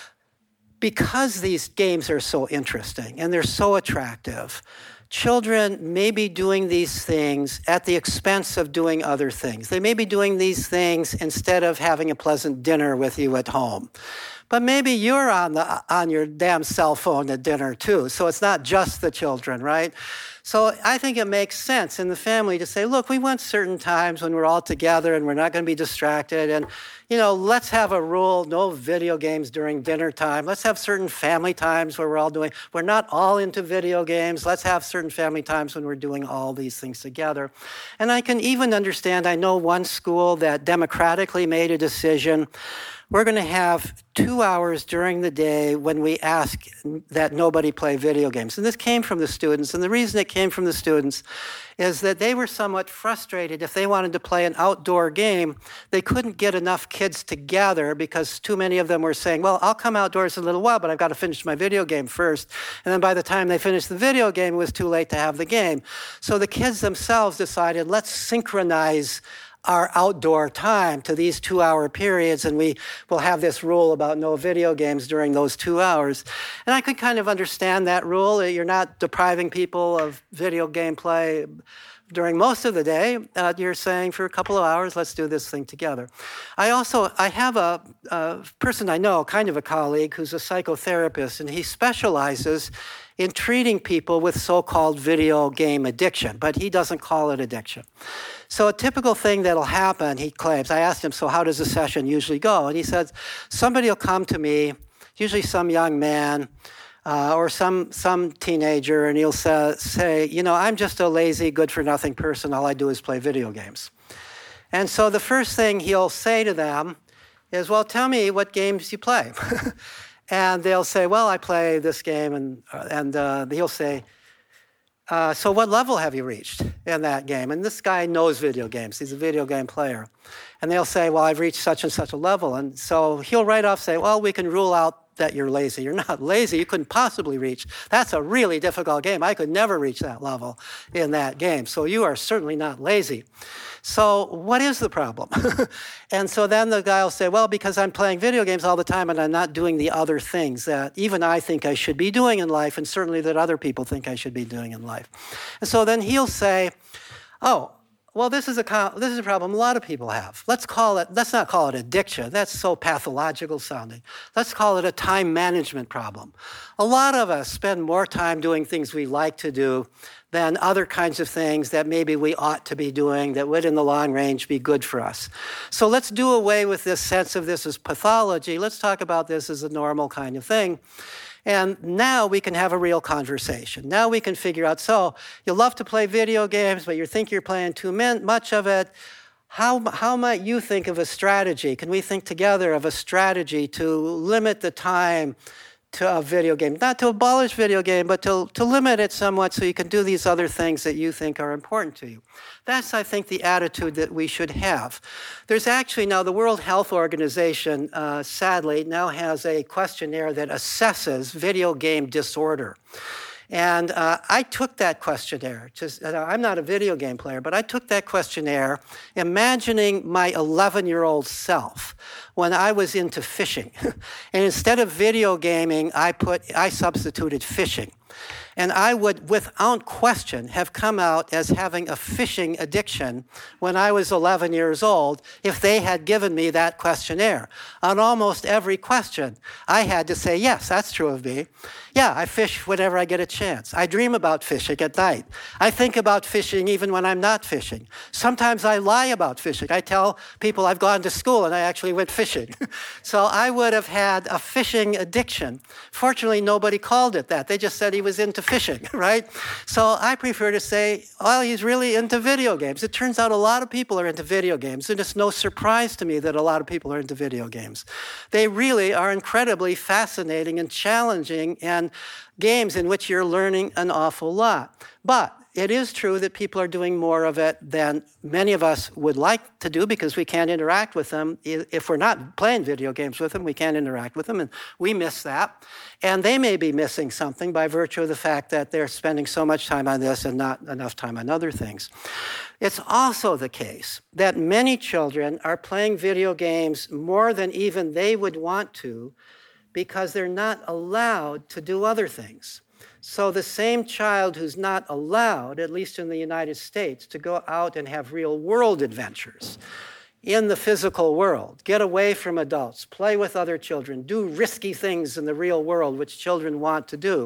Because these games are so interesting and they're so attractive, children may be doing these things at the expense of doing other things. They may be doing these things instead of having a pleasant dinner with you at home. But maybe you're on your damn cell phone at dinner too, so it's not just the children, right? So I think it makes sense in the family to say, look, we want certain times when we're all together and we're not going to be distracted. And, let's have a rule, no video games during dinner time. Let's have certain family times where we're not all into video games. Let's have certain family times when we're doing all these things together. And I can even understand, I know one school that democratically made a decision. We're going to have 2 hours during the day when we ask that nobody play video games. And this came from the students. And the reason it came from the students is that they were somewhat frustrated. If they wanted to play an outdoor game, they couldn't get enough kids together because too many of them were saying, well, I'll come outdoors in a little while, but I've got to finish my video game first. And then by the time they finished the video game, it was too late to have the game. So the kids themselves decided, let's synchronize our outdoor time to these 2-hour periods, and we will have this rule about no video games during those 2 hours. And I could kind of understand that rule. You're not depriving people of video game play during most of the day. You're saying for a couple of hours, let's do this thing together. I have a person I know, kind of a colleague, who's a psychotherapist, and he specializes in treating people with so-called video game addiction, but he doesn't call it addiction. So a typical thing that'll happen, he claims, I asked him, so how does a session usually go? And he says, somebody will come to me, usually some young man or some teenager, and he'll say, I'm just a lazy, good-for-nothing person. All I do is play video games. And so the first thing he'll say to them is, well, tell me what games you play. And they'll say, well, I play this game, and he'll say, so what level have you reached in that game? And this guy knows video games. He's a video game player. And they'll say, well, I've reached such and such a level. And so he'll right off say, well, we can rule out that you're lazy. You're not lazy. You couldn't possibly reach. That's a really difficult game. I could never reach that level in that game. So you are certainly not lazy. So what is the problem? And so then the guy will say, well, because I'm playing video games all the time and I'm not doing the other things that even I think I should be doing in life, and certainly that other people think I should be doing in life. And so then he'll say, oh, well, this is a problem a lot of people have. Let's not call it addiction. That's so pathological sounding. Let's call it a time management problem. A lot of us spend more time doing things we like to do than other kinds of things that maybe we ought to be doing that would in the long range be good for us. So let's do away with this sense of this as pathology. Let's talk about this as a normal kind of thing. And now we can have a real conversation. Now we can figure out, so you love to play video games, but you think you're playing too much of it. How might you think of a strategy? Can we think together of a strategy to limit the time to a video game? Not to abolish video game, but to limit it somewhat so you can do these other things that you think are important to you. That's, I think, the attitude that we should have. There's actually now the World Health Organization, sadly, now has a questionnaire that assesses video game disorder. And I took that questionnaire. I'm not a video game player, but I took that questionnaire imagining my 11-year-old self when I was into fishing. And instead of video gaming, I substituted fishing. And I would, without question, have come out as having a fishing addiction when I was 11 years old if they had given me that questionnaire. On almost every question, I had to say, yes, that's true of me. Yeah, I fish whenever I get a chance. I dream about fishing at night. I think about fishing even when I'm not fishing. Sometimes I lie about fishing. I tell people I've gone to school and I actually went fishing. So I would have had a fishing addiction. Fortunately, nobody called it that. They just said he was into fishing, right? So I prefer to say, well, he's really into video games. It turns out a lot of people are into video games, and it's no surprise to me that a lot of people are into video games. They really are incredibly fascinating and challenging, and games in which you're learning an awful lot. But it is true that people are doing more of it than many of us would like to do because we can't interact with them. If we're not playing video games with them, we can't interact with them, and we miss that. And they may be missing something by virtue of the fact that they're spending so much time on this and not enough time on other things. It's also the case that many children are playing video games more than even they would want to because they're not allowed to do other things. So the same child who's not allowed, at least in the United States, to go out and have real world adventures in the physical world, get away from adults, play with other children, do risky things in the real world, which children want to do,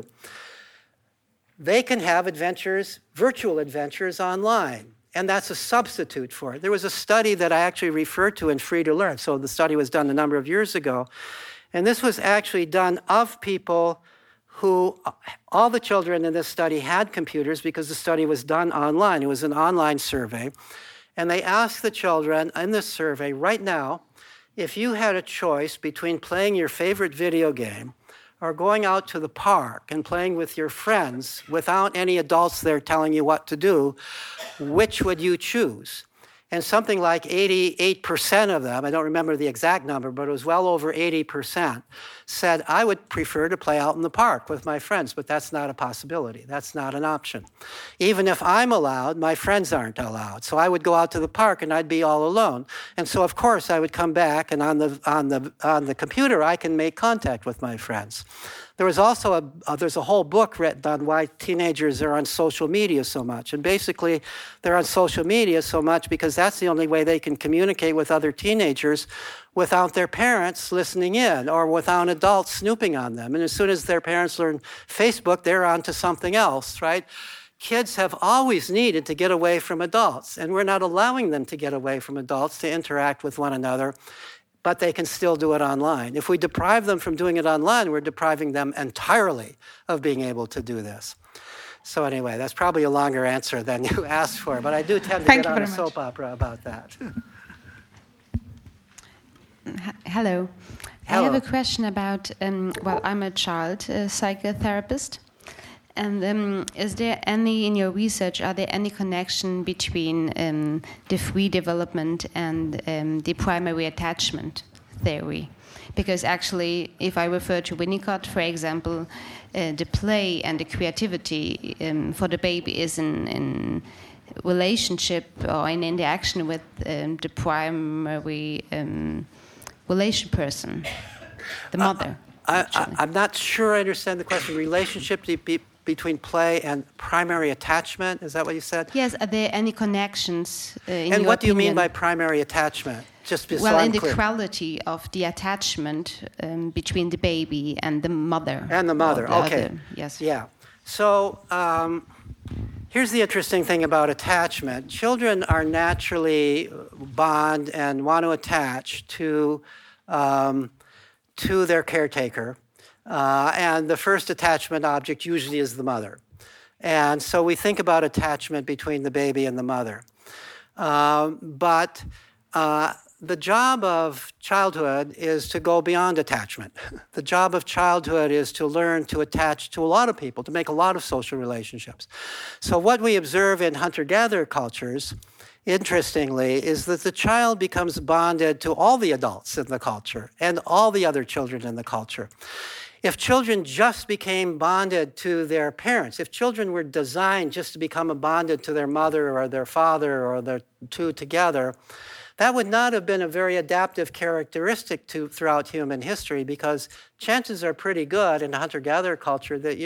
they can have adventures, virtual adventures online. And that's a substitute for it. There was a study that I actually referred to in Free to Learn. So the study was done a number of years ago. And this was actually done of people who, all the children in this study had computers because the study was done online. It was an online survey. And they asked the children in this survey, right now, if you had a choice between playing your favorite video game or going out to the park and playing with your friends without any adults there telling you what to do, which would you choose? And something like 88% of them, I don't remember the exact number, but it was well over 80%, said, I would prefer to play out in the park with my friends, but that's not a possibility. That's not an option. Even if I'm allowed, my friends aren't allowed. So I would go out to the park and I'd be all alone. And so, of course, I would come back, and on the computer, I can make contact with my friends. There was also there's a whole book written on why teenagers are on social media so much. And basically, they're on social media so much because that's the only way they can communicate with other teenagers without their parents listening in or without adults snooping on them. And as soon as their parents learn Facebook, they're on to something else, right? Kids have always needed to get away from adults, and we're not allowing them to get away from adults to interact with one another, but they can still do it online. If we deprive them from doing it online, we're depriving them entirely of being able to do this. So anyway, that's probably a longer answer than you asked for, but I do tend to get on a soap opera about that.
Hello. I have a question about, well, I'm a child psychotherapist. And is there any, in your research, are there any connection between the free development and the primary attachment theory? Because actually, if I refer to Winnicott, for example, the play and the creativity for the baby is in relationship or in interaction with the primary relation person, the mother.
I'm not sure I understand the question. Relationship between play and primary attachment, is that what you said?
Yes, are there any connections in
and
your
what do you mean
opinion?
by primary attachment? Just so
well,
I'm
in the
clear.
quality of the attachment between the baby and the mother.
And the mother,
or the
okay.
other, yes.
Yeah. So here's the interesting thing about attachment. Children are naturally bond and want to attach to their caretaker. And the first attachment object usually is the mother. And so we think about attachment between the baby and the mother. But the job of childhood is to go beyond attachment. The job of childhood is to learn to attach to a lot of people, to make a lot of social relationships. So what we observe in hunter-gatherer cultures, interestingly, is that the child becomes bonded to all the adults in the culture and all the other children in the culture. If children just became bonded to their parents, if children were designed just to become bonded to their mother or their father or their two together, that would not have been a very adaptive characteristic throughout human history, because chances are pretty good in a hunter-gatherer culture that you're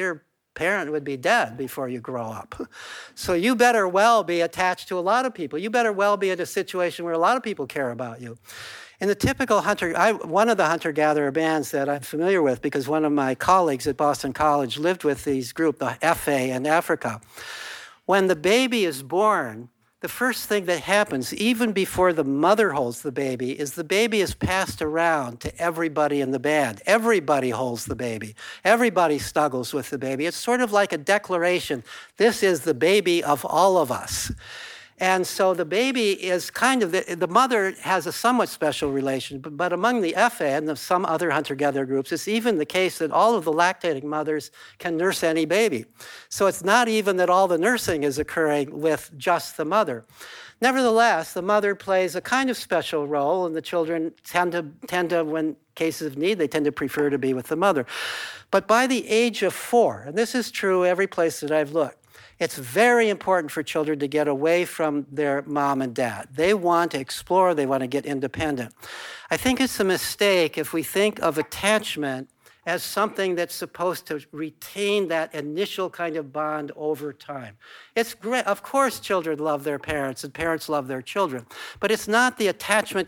parent would be dead before you grow up. So you better well be attached to a lot of people. You better well be in a situation where a lot of people care about you. In the typical one of the hunter-gatherer bands that I'm familiar with, because one of my colleagues at Boston College lived with these group, the FA in Africa. When the baby is born, the first thing that happens, even before the mother holds the baby, is the baby is passed around to everybody in the band. Everybody holds the baby. Everybody snuggles with the baby. It's sort of like a declaration. This is the baby of all of us. And so the baby is kind of, the mother has a somewhat special relation, but among the FA and some other hunter-gatherer groups, it's even the case that all of the lactating mothers can nurse any baby. So it's not even that all the nursing is occurring with just the mother. Nevertheless, the mother plays a kind of special role, and the children tend to, when cases of need, they tend to prefer to be with the mother. But by the age of 4, and this is true every place that I've looked, it's very important for children to get away from their mom and dad. They want to explore, they want to get independent. I think it's a mistake if we think of attachment as something that's supposed to retain that initial kind of bond over time. It's great. Of course, children love their parents and parents love their children, but it's not the attachment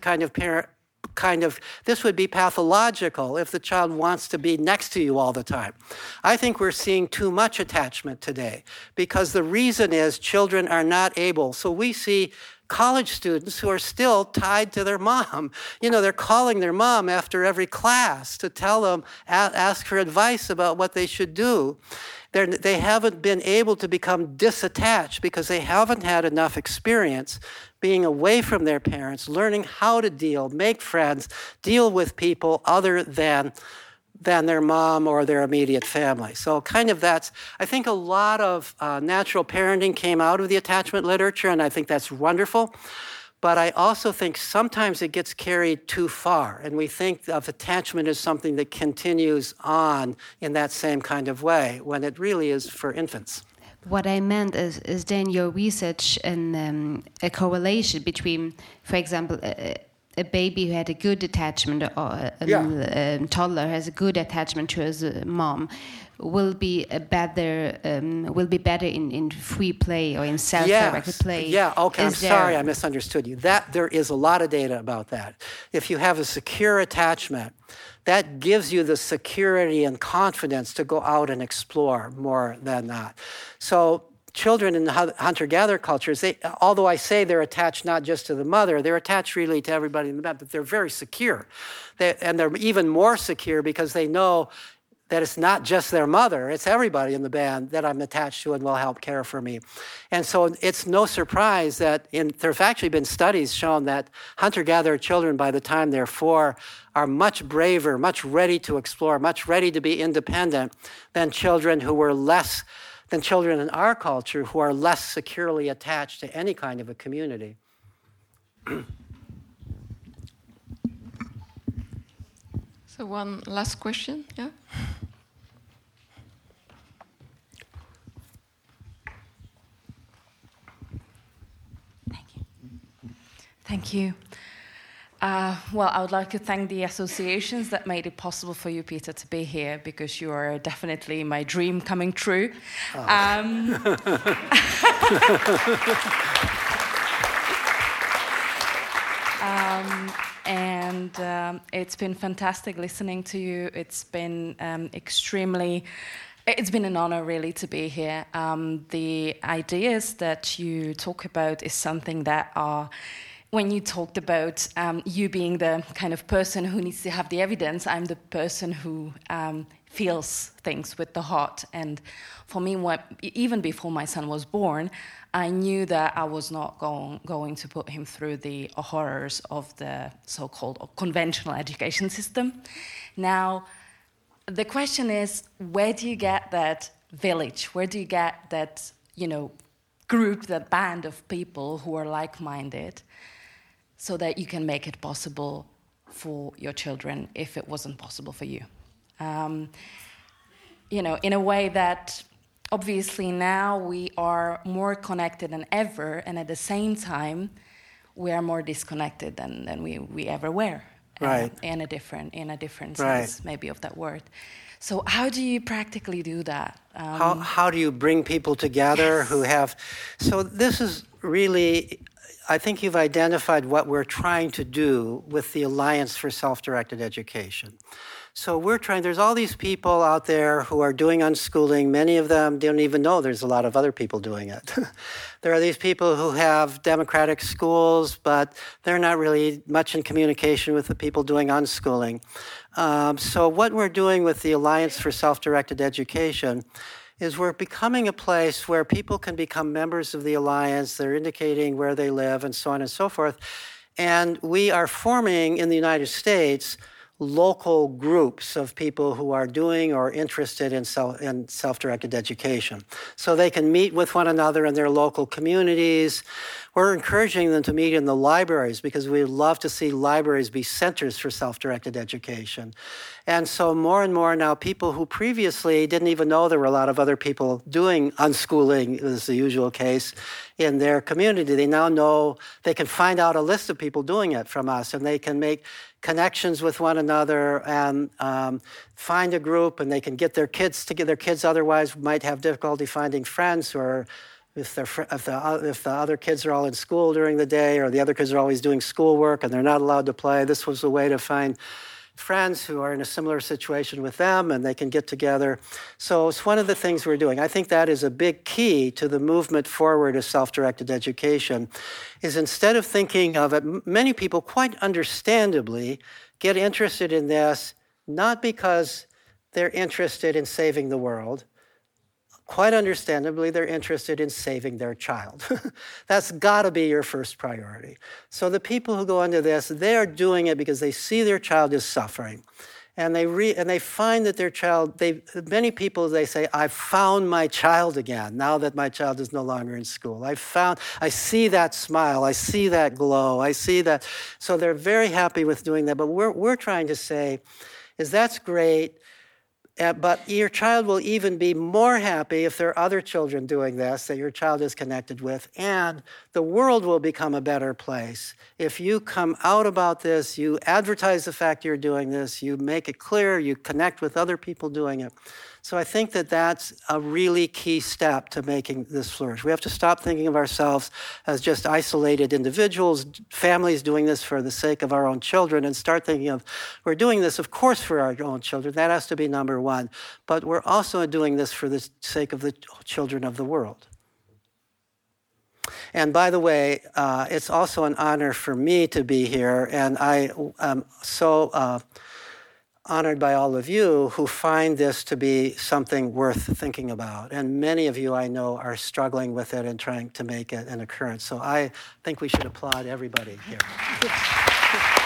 this would be pathological if the child wants to be next to you all the time. I think we're seeing too much attachment today because the reason is children are not able. So we see college students who are still tied to their mom. They're calling their mom after every class to tell them, ask for advice about what they should do. They haven't been able to become disattached because they haven't had enough experience being away from their parents, learning how to make friends, deal with people other than their mom or their immediate family. So I think a lot of natural parenting came out of the attachment literature, and I think that's wonderful. But I also think sometimes it gets carried too far, and we think of attachment as something that continues on in that same kind of way, when it really is for infants.
What I meant is then your research and a correlation between, for example, a baby who had a good attachment or a toddler has a good attachment to his mom will be better in free play or in self-directed play.
Yeah, okay, sorry I misunderstood you. There is a lot of data about that. If you have a secure attachment, that gives you the security and confidence to go out and explore more than that. So children in the hunter-gatherer cultures, although I say they're attached not just to the mother, they're attached really to everybody in the band, but they're very secure. And they're even more secure because they know that it's not just their mother, it's everybody in the band that I'm attached to and will help care for me. And so it's no surprise that there have actually been studies shown that hunter-gatherer children, by the time they're 4, are much braver, much ready to explore, much ready to be independent than children in our culture who are less securely attached to any kind of a community.
So one last question, yeah?
Thank you. Well, I would like to thank the associations that made it possible for you, Peter, to be here, because you are definitely my dream coming true. Oh. It's been fantastic listening to you. It's been it's been an honor, really, to be here. The ideas that you talk about is something that are... When you talked about you being the kind of person who needs to have the evidence, I'm the person who feels things with the heart. And for me, even before my son was born, I knew that I was not going to put him through the horrors of the so-called conventional education system. Now, the question is, where do you get that village? Where do you get that, group, that band of people who are like-minded, so that you can make it possible for your children if it wasn't possible for you? In a way that obviously now we are more connected than ever, and at the same time, we are more disconnected than we ever were.
Right.
In a different
right.
sense, maybe, of that word. So how do you practically do that?
How do you bring people together who have... So this is really... I think you've identified what we're trying to do with the Alliance for Self-Directed Education. So we're trying, there's all these people out there who are doing unschooling. Many of them don't even know there's a lot of other people doing it. There are these people who have democratic schools, but they're not really much in communication with the people doing unschooling. So what we're doing with the Alliance for Self-Directed Education is we're becoming a place where people can become members of the Alliance. They're indicating where they live and so on and so forth. And we are forming in the United States local groups of people who are doing or interested in self-directed education. So they can meet with one another in their local communities. We're encouraging them to meet in the libraries because we love to see libraries be centers for self-directed education. And so more and more now, people who previously didn't even know there were a lot of other people doing unschooling, is the usual case, in their community. They now know they can find out a list of people doing it from us, and they can make connections with one another and find a group, and they can get their kids together. Their kids otherwise might have difficulty finding friends, or if the other kids are all in school during the day, or the other kids are always doing schoolwork and they're not allowed to play. This was a way to find friends who are in a similar situation with them, and they can get together. So it's one of the things we're doing. I think that is a big key to the movement forward of self-directed education, is instead of thinking of it, many people quite understandably get interested in this, not because they're interested in saving the world. Quite understandably, they're interested in saving their child. That's got to be your first priority. So the people who go into this, they are doing it because they see their child is suffering. And they find that their child, many people, they say, I found my child again, now that my child is no longer in school. I see that smile, I see that glow, I see that. So they're very happy with doing that. But we're trying to say is that's great, but your child will even be more happy if there are other children doing this that your child is connected with, and the world will become a better place. If you come out about this, you advertise the fact you're doing this, you make it clear, you connect with other people doing it. So I think that that's a really key step to making this flourish. We have to stop thinking of ourselves as just isolated individuals, families doing this for the sake of our own children, and start thinking of, we're doing this, of course, for our own children. That has to be number one. But we're also doing this for the sake of the children of the world. And by the way, it's also an honor for me to be here, and I am so honored by all of you who find this to be something worth thinking about. And many of you I know are struggling with it and trying to make it an occurrence. So I think we should applaud everybody here.